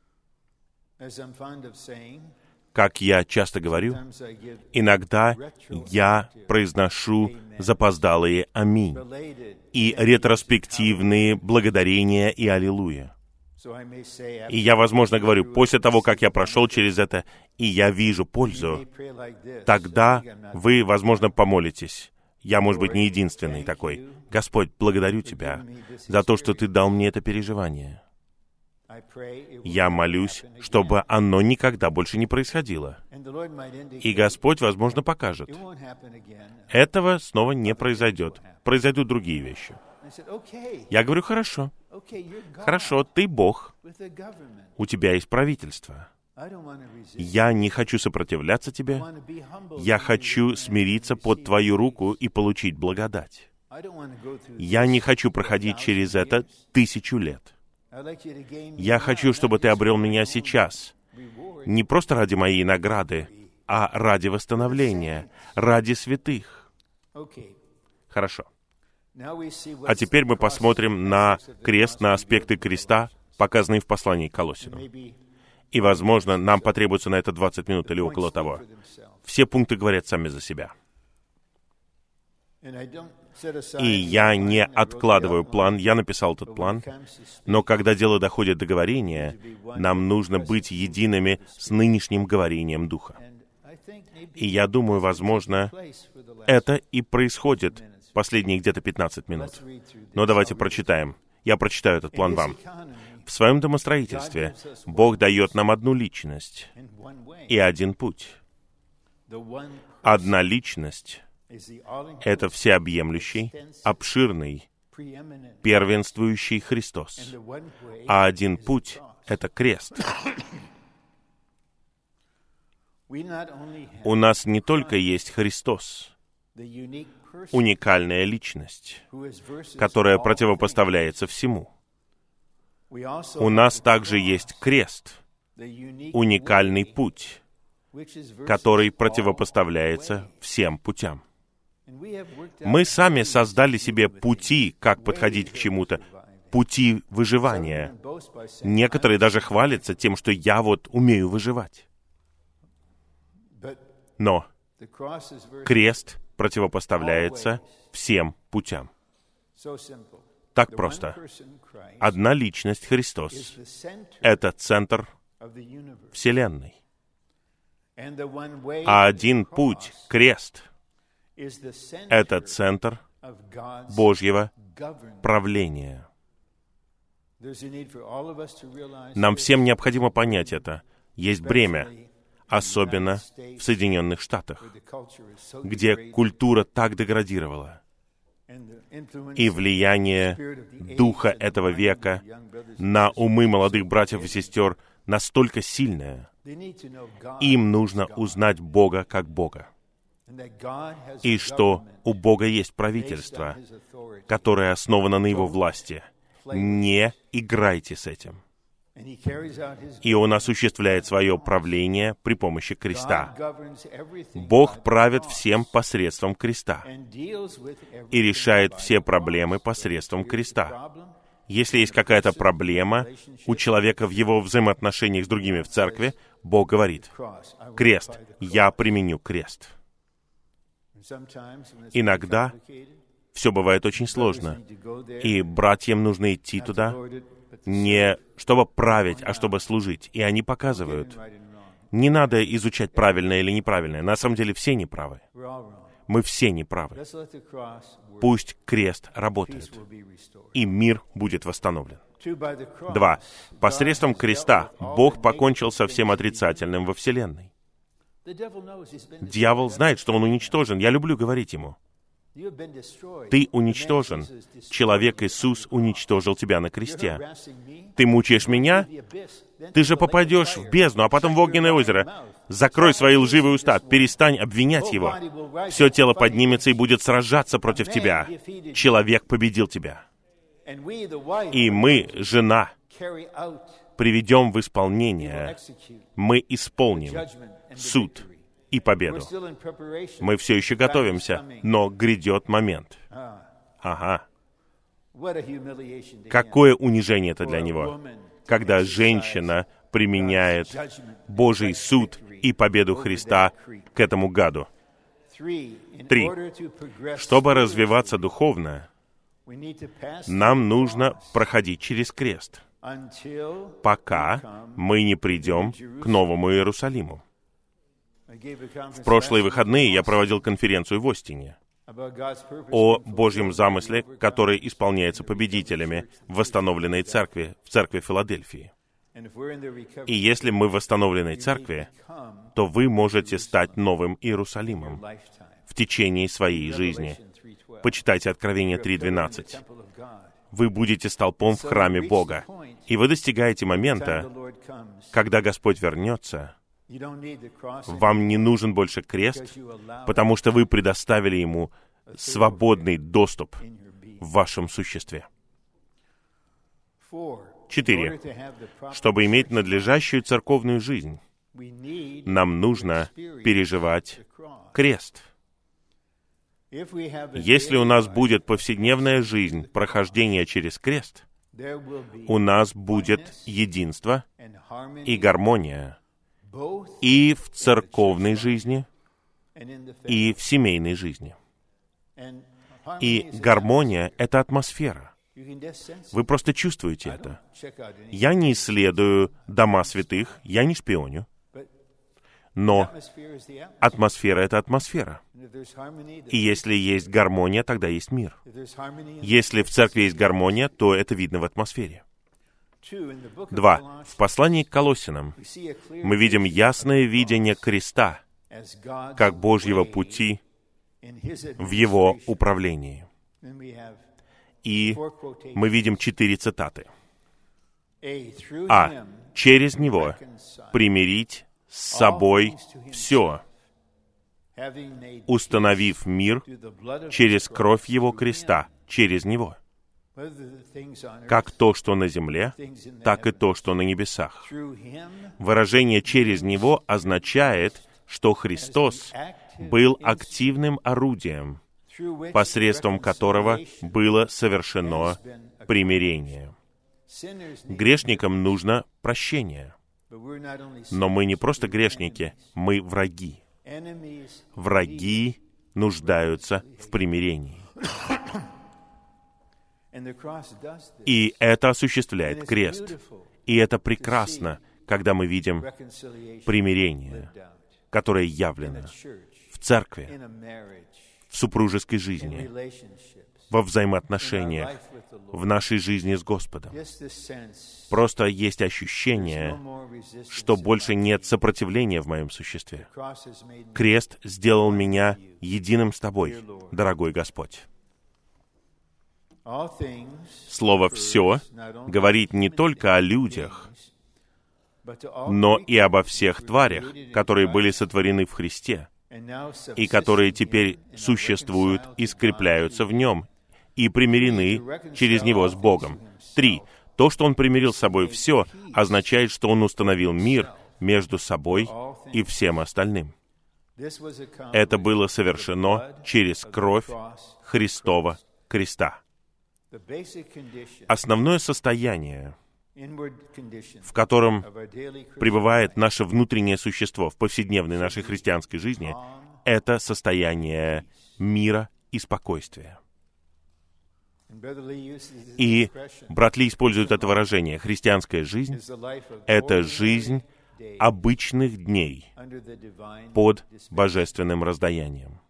Как я часто говорю, иногда я произношу запоздалые «Аминь» и ретроспективные благодарения и «Аллилуйя». И я, возможно, говорю, после того, как я прошел через это, и я вижу пользу, тогда вы, возможно, помолитесь. Я, может быть, не единственный такой. Господь, благодарю Тебя за то, что Ты дал мне это переживание. Я молюсь, чтобы оно никогда больше не происходило. И Господь, возможно, покажет. Этого снова не произойдет. Произойдут другие вещи. Я говорю, хорошо. Хорошо, Ты Бог. У Тебя есть правительство. Я не хочу сопротивляться Тебе. Я хочу смириться под Твою руку и получить благодать. Я не хочу проходить через это 1000 лет. Я хочу, чтобы Ты обрел меня сейчас. Не просто ради моей награды, а ради восстановления, ради святых. Хорошо. А теперь мы посмотрим на крест, на аспекты креста, показанные в послании к Колоссянам. И, возможно, нам потребуется на это 20 минут или около того. Все пункты говорят сами за себя. И я не откладываю план, я написал этот план, но когда дело доходит до говорения, нам нужно быть едиными с нынешним говорением Духа. И я думаю, возможно, это и происходит последние где-то 15 минут. Но давайте прочитаем. Я прочитаю этот план вам. В своем домостроительстве Бог дает нам одну личность и один путь. Одна личность — это всеобъемлющий, обширный, первенствующий Христос. А один путь — это крест. У нас не только есть Христос, уникальная личность, которая противопоставляется всему. У нас также есть крест, уникальный путь, который противопоставляется всем путям. Мы сами создали себе пути, как подходить к чему-то, пути выживания. Некоторые даже хвалятся тем, что я вот умею выживать. Но крест противопоставляется всем путям. Так просто. Одна личность, Христос, — это центр Вселенной. А один путь, крест, — это центр Божьего правления. Нам всем необходимо понять это. Есть бремя, особенно в Соединенных Штатах, где культура так деградировала. И влияние духа этого века на умы молодых братьев и сестер настолько сильное. Им нужно узнать Бога как Бога. И что у Бога есть правительство, которое основано на Его власти. Не играйте с этим. И Он осуществляет свое правление при помощи креста. Бог правит всем посредством креста и решает все проблемы посредством креста. Если есть какая-то проблема у человека в его взаимоотношениях с другими в церкви, Бог говорит: «Крест, я применю крест». Иногда все бывает очень сложно, и братьям нужно идти туда не чтобы править, а чтобы служить. И они показывают. Не надо изучать правильное или неправильное. На самом деле все неправы. Мы все неправы. Пусть крест работает, и мир будет восстановлен. 2. Посредством креста Бог покончил со всем отрицательным во Вселенной. Дьявол знает, что он уничтожен. Я люблю говорить ему: ты уничтожен. Человек Иисус уничтожил тебя на кресте. Ты мучаешь меня? Ты же попадешь в бездну, а потом в огненное озеро. Закрой свои лживые уста, перестань обвинять его. Все тело поднимется и будет сражаться против тебя. Человек победил тебя. И мы, жена, приведем в исполнение, мы исполним суд и победу. Мы все еще готовимся, но грядет момент. Ага. Какое унижение это для него, когда женщина применяет Божий суд и победу Христа к этому гаду. 3. Чтобы развиваться духовно, нам нужно проходить через крест, пока мы не придем к Новому Иерусалиму. В прошлые выходные я проводил конференцию в Остине о Божьем замысле, который исполняется победителями в восстановленной церкви, в церкви Филадельфии. И если мы в восстановленной церкви, то вы можете стать новым Иерусалимом в течение своей жизни. Почитайте Откровение 3:12. Вы будете столпом в храме Бога. И вы достигаете момента, когда Господь вернется. Вам не нужен больше крест, потому что вы предоставили Ему свободный доступ в вашем существе. 4. Чтобы иметь надлежащую церковную жизнь, нам нужно переживать крест. Если у нас будет повседневная жизнь прохождения через крест, у нас будет единство и гармония и в церковной жизни, и в семейной жизни. И гармония — это атмосфера. Вы просто чувствуете это. Я не исследую дома святых, я не шпионю. Но атмосфера — это атмосфера. И если есть гармония, тогда есть мир. Если в церкви есть гармония, то это видно в атмосфере. 2. В послании к Колоссянам мы видим ясное видение креста как Божьего пути в Его управлении. И мы видим 4 цитаты. А. Через Него примирить с собой все, установив мир через кровь Его креста, через Него. Как то, что на земле, так и то, что на небесах. Выражение «через Него» означает, что Христос был активным орудием, посредством которого было совершено примирение. Грешникам нужно прощение. Но мы не просто грешники, мы враги. Враги нуждаются в примирении. И это осуществляет крест. И это прекрасно, когда мы видим примирение, которое явлено в церкви, в супружеской жизни, во взаимоотношениях, в нашей жизни с Господом. Просто есть ощущение, что больше нет сопротивления в моем существе. Крест сделал меня единым с Тобой, дорогой Господь. Слово «все» говорит не только о людях, но и обо всех тварях, которые были сотворены в Христе, и которые теперь существуют и скрепляются в Нем, и примирены через Него с Богом. 3. То, что Он примирил с собой все, означает, что Он установил мир между собой и всем остальным. Это было совершено через кровь Христова креста. Основное состояние, в котором пребывает наше внутреннее существо в повседневной нашей христианской жизни, это состояние мира и спокойствия. И брат Ли использует это выражение. Христианская жизнь — это жизнь обычных дней под божественным раздаянием.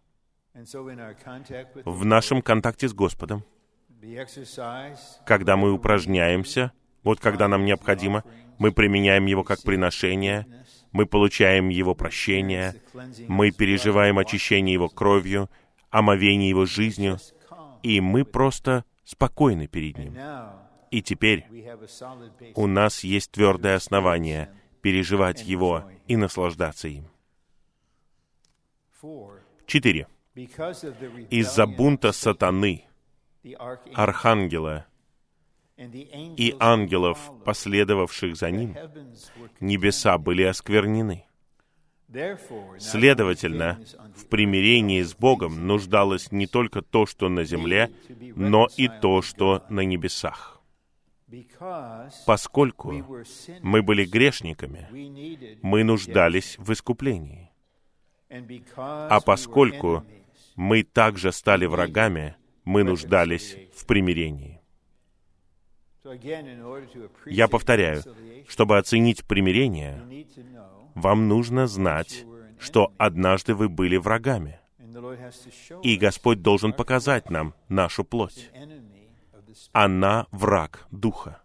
В нашем контакте с Господом, когда мы упражняемся, вот когда нам необходимо, мы применяем Его как приношение, мы получаем Его прощение, мы переживаем очищение Его кровью, омовение Его жизнью, и мы просто спокойны перед Ним. И теперь у нас есть твердое основание переживать Его и наслаждаться им. 4. Из-за бунта сатаны, архангела и ангелов, последовавших за ним, небеса были осквернены. Следовательно, в примирении с Богом нуждалось не только то, что на земле, но и то, что на небесах. Поскольку мы были грешниками, мы нуждались в искуплении. А поскольку мы также стали врагами, мы нуждались в примирении. Я повторяю, чтобы оценить примирение, вам нужно знать, что однажды вы были врагами. И Господь должен показать нам нашу плоть. Она враг Духа.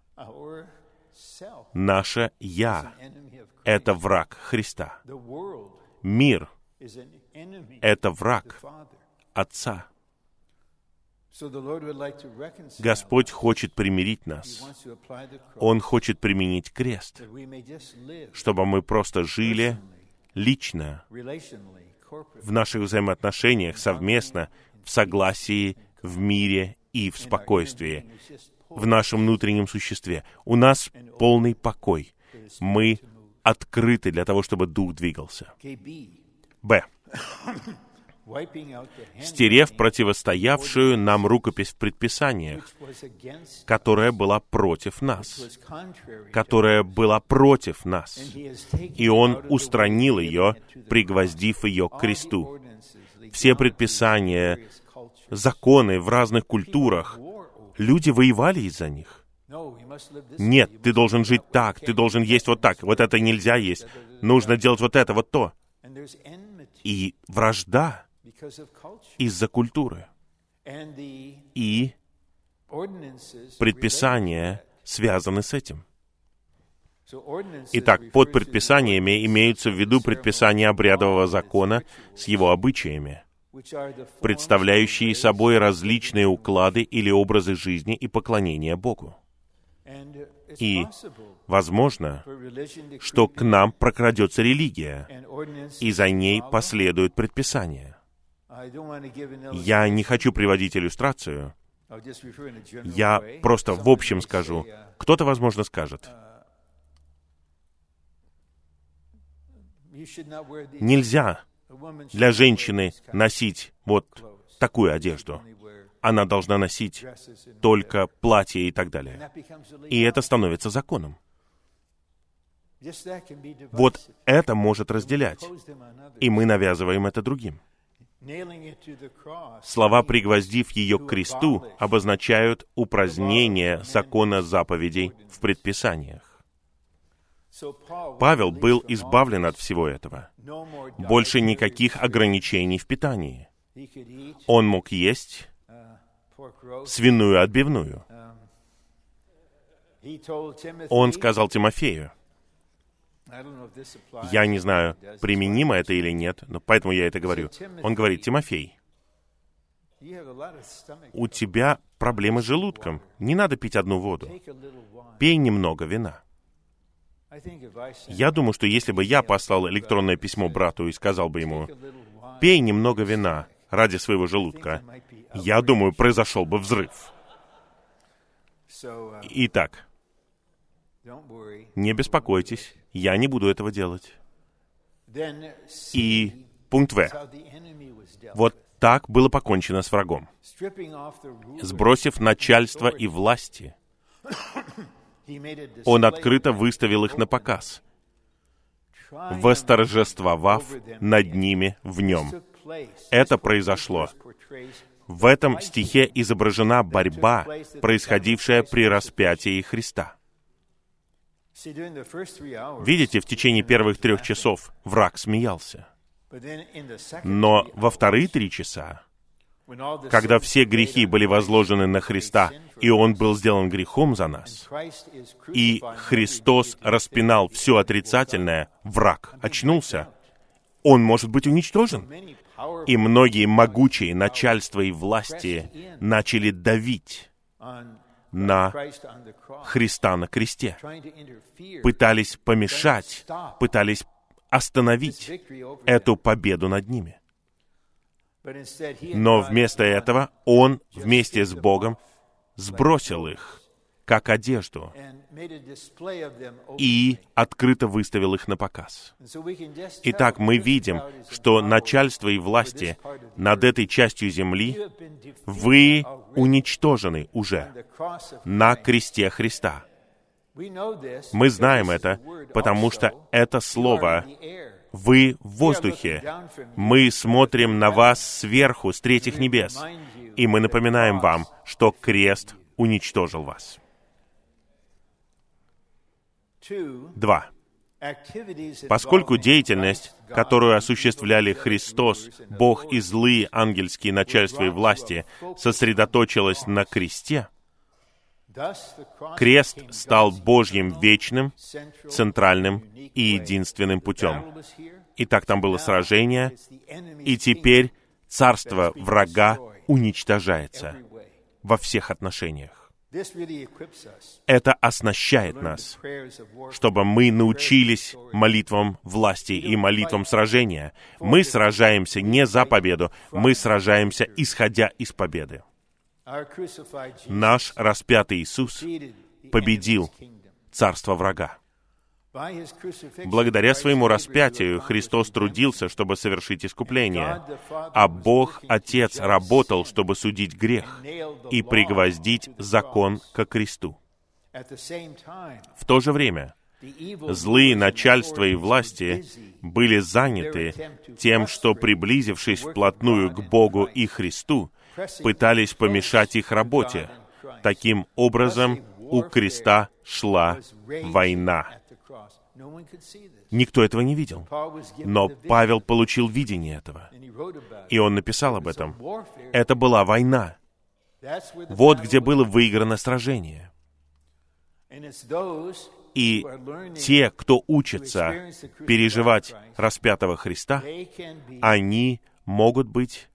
Наше «Я» — это враг Христа. Мир — это враг Отца. Господь хочет примирить нас. Он хочет применить крест, чтобы мы просто жили лично, в наших взаимоотношениях, совместно, в согласии, в мире и в спокойствии, в нашем внутреннем существе. У нас полный покой. Мы открыты для того, чтобы Дух двигался. Б. Стерев противостоявшую нам рукопись в предписаниях, которая была против нас, и Он устранил ее, пригвоздив ее к кресту. Все предписания, законы в разных культурах, люди воевали из-за них. Нет, ты должен жить так, ты должен есть вот так, вот это нельзя есть, нужно делать вот это, вот то. И вражда из-за культуры. И предписания связаны с этим. Итак, под предписаниями имеются в виду предписания обрядового закона с его обычаями, представляющие собой различные уклады или образы жизни и поклонения Богу. И возможно, что к нам прокрадется религия, и за ней последуют предписания. Я не хочу приводить иллюстрацию. Я просто в общем скажу. Кто-то, возможно, скажет: нельзя для женщины носить вот такую одежду. Она должна носить только платье и так далее. И это становится законом. Вот это может разделять. И мы навязываем это другим. Слова «пригвоздив ее к кресту» обозначают упразднение закона заповедей в предписаниях. Павел был избавлен от всего этого. Больше никаких ограничений в питании. Он мог есть свиную отбивную. Он сказал Тимофею, я не знаю, применимо это или нет, но поэтому я это говорю. Он говорит: Тимофей, у тебя проблемы с желудком. Не надо пить одну воду. Пей немного вина. Я думаю, что если бы я послал электронное письмо брату и сказал бы ему: пей немного вина ради своего желудка, я думаю, произошел бы взрыв. Итак, не беспокойтесь, я не буду этого делать. И пункт В. Вот так было покончено с врагом. Сбросив начальство и власти, он открыто выставил их на показ, восторжествовав над ними в нем. Это произошло. В этом стихе изображена борьба, происходившая при распятии Христа. Видите, в течение первых 3 часов враг смеялся. Но во вторые 3 часа, когда все грехи были возложены на Христа, и Он был сделан грехом за нас, и Христос распинал все отрицательное, враг очнулся. Он может быть уничтожен. И многие могучие начальства и власти начали давить на Христа на кресте, пытались помешать, пытались остановить эту победу над ними. Но вместо этого Он вместе с Богом сбросил их как одежду, и открыто выставил их на показ. Итак, мы видим, что начальство и власти над этой частью земли вы уничтожены уже на кресте Христа. Мы знаем это, потому что это слово «вы в воздухе». Мы смотрим на вас сверху, с третьих небес, и мы напоминаем вам, что крест уничтожил вас. 2. Поскольку деятельность, которую осуществляли Христос, Бог и злые ангельские начальства и власти, сосредоточилась на кресте, крест стал Божьим вечным, центральным и единственным путем. Итак, там было сражение, и теперь царство врага уничтожается во всех отношениях. Это оснащает нас, чтобы мы научились молитвам власти и молитвам сражения. Мы сражаемся не за победу, мы сражаемся, исходя из победы. Наш распятый Иисус победил царство врага. Благодаря своему распятию Христос трудился, чтобы совершить искупление, а Бог Отец работал, чтобы судить грех и пригвоздить закон ко кресту. В то же время злые начальства и власти были заняты тем, что, приблизившись вплотную к Богу и Христу, пытались помешать их работе. Таким образом, у креста шла война. Никто этого не видел. Но Павел получил видение этого. И он написал об этом. Это была война. Вот где было выиграно сражение. И те, кто учатся переживать распятого Христа, они могут быть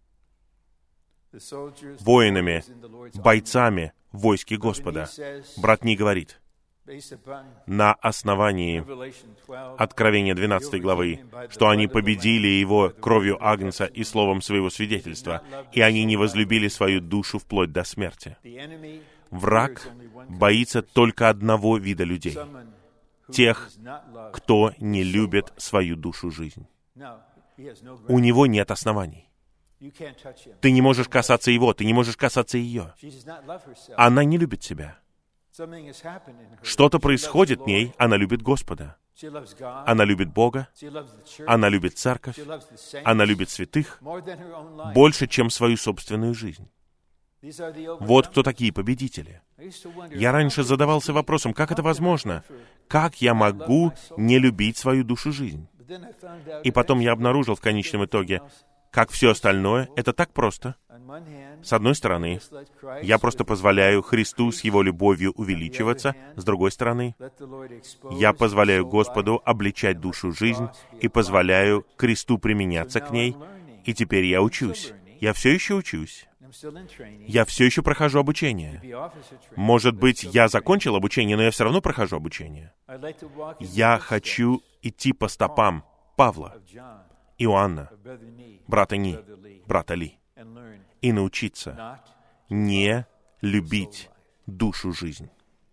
воинами, бойцами в войске Господа. Брат Ни говорит, на основании Откровения 12 главы, что они победили его кровью Агнца и словом своего свидетельства, и они не возлюбили свою душу вплоть до смерти. Враг боится только одного вида людей — тех, кто не любит свою душу жизнь. У него нет оснований. Ты не можешь касаться его, ты не можешь касаться ее. Она не любит себя. Что-то происходит в ней, она любит Господа. Она любит Бога, она любит церковь, она любит святых больше, чем свою собственную жизнь. Вот кто такие победители. Я раньше задавался вопросом, как это возможно? Как я могу не любить свою душу жизнь? И потом я обнаружил в конечном итоге, как все остальное, это так просто. С одной стороны, я просто позволяю Христу с Его любовью увеличиваться. С другой стороны, я позволяю Господу обличать душу жизнь и позволяю кресту применяться к ней. И теперь я учусь. Я все еще учусь. Я все еще прохожу обучение. Может быть, я закончил обучение, но я все равно прохожу обучение. Я хочу идти по стопам Павла, Иоанна, брата Ни, брата Ли, и научиться не любить душу жизнь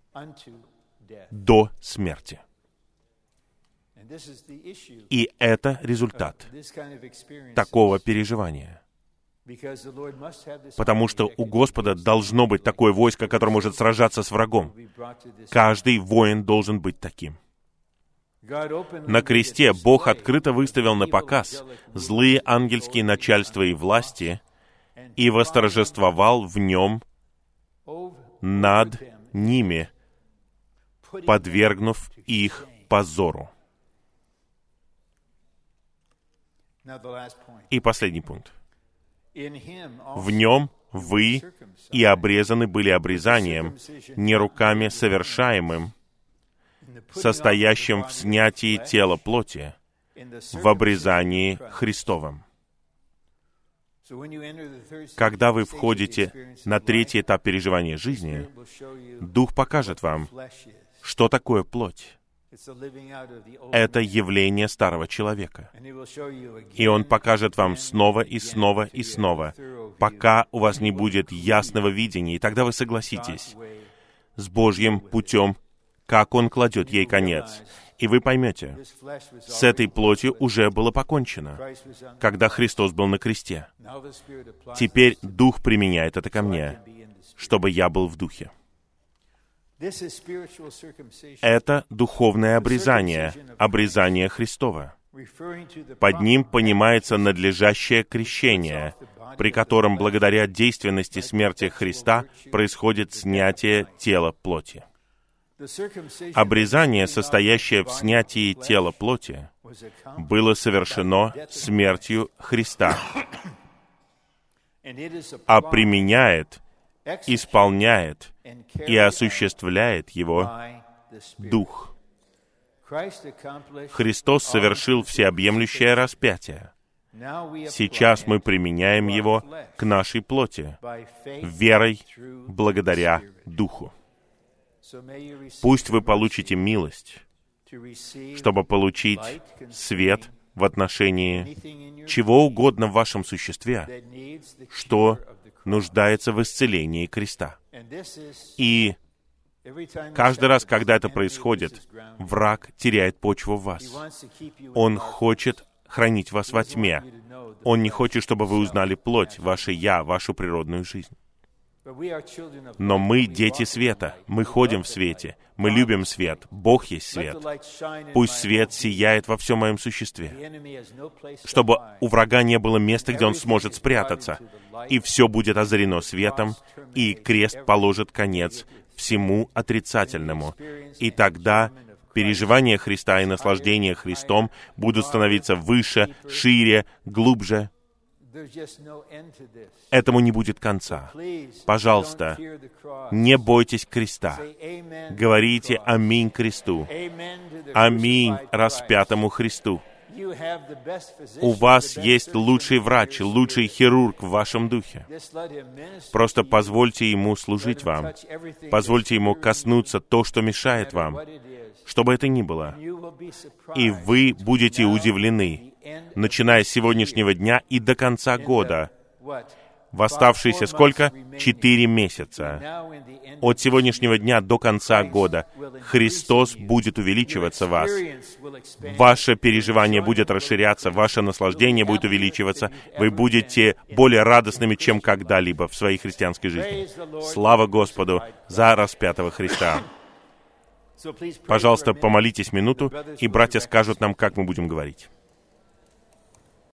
до смерти. И это результат такого переживания. Потому что у Господа должно быть такое войско, которое может сражаться с врагом. Каждый воин должен быть таким. На кресте Бог открыто выставил на показ злые ангельские начальства и власти и восторжествовал в нем над ними, подвергнув их позору. И последний пункт. В нем вы и обрезаны были обрезанием, не руками совершаемым, состоящим в снятии тела плоти, в обрезании Христовом. Когда вы входите на третий этап переживания жизни, Дух покажет вам, что такое плоть. Это явление старого человека. И Он покажет вам снова и снова и снова, пока у вас не будет ясного видения, и тогда вы согласитесь. с Божьим путем, как Он кладет ей конец. И вы поймете, с этой плотью уже было покончено, когда Христос был на кресте. Теперь Дух применяет это ко мне, чтобы я был в Духе. Это духовное обрезание, обрезание Христово. Под ним понимается надлежащее крещение, при котором благодаря действенности смерти Христа происходит снятие тела плоти. Обрезание, состоящее в снятии тела плоти, было совершено смертью Христа, а применяет, исполняет и осуществляет его Дух. Христос совершил всеобъемлющее распятие. Сейчас мы применяем его к нашей плоти, верой благодаря Духу. Пусть вы получите милость, чтобы получить свет в отношении чего угодно в вашем существе, что нуждается в исцелении креста. И каждый раз, когда это происходит, враг теряет почву в вас. Он хочет хранить вас во тьме. Он не хочет, чтобы вы узнали плоть, ваше «я», вашу природную жизнь. Но мы дети света, мы ходим в свете, мы любим свет, Бог есть свет. Пусть свет сияет во всем моем существе, чтобы у врага не было места, где он сможет спрятаться, и все будет озарено светом, и крест положит конец всему отрицательному. И тогда переживания Христа и наслаждения Христом будут становиться выше, шире, глубже. Этому не будет конца. Пожалуйста, не бойтесь креста. Говорите «Аминь» кресту. «Аминь» распятому Христу. У вас есть лучший врач, лучший хирург в вашем духе. Просто позвольте Ему служить вам. Позвольте Ему коснуться то, что мешает вам, что бы это ни было. И вы будете удивлены, начиная с сегодняшнего дня и до конца года. В оставшиеся сколько? 4 месяца. От сегодняшнего дня до конца года Христос будет увеличиваться в вас. Ваше переживание будет расширяться, ваше наслаждение будет увеличиваться. Вы будете более радостными, чем когда-либо в своей христианской жизни. Слава Господу за распятого Христа. Пожалуйста, помолитесь минуту, и братья скажут нам, как мы будем говорить.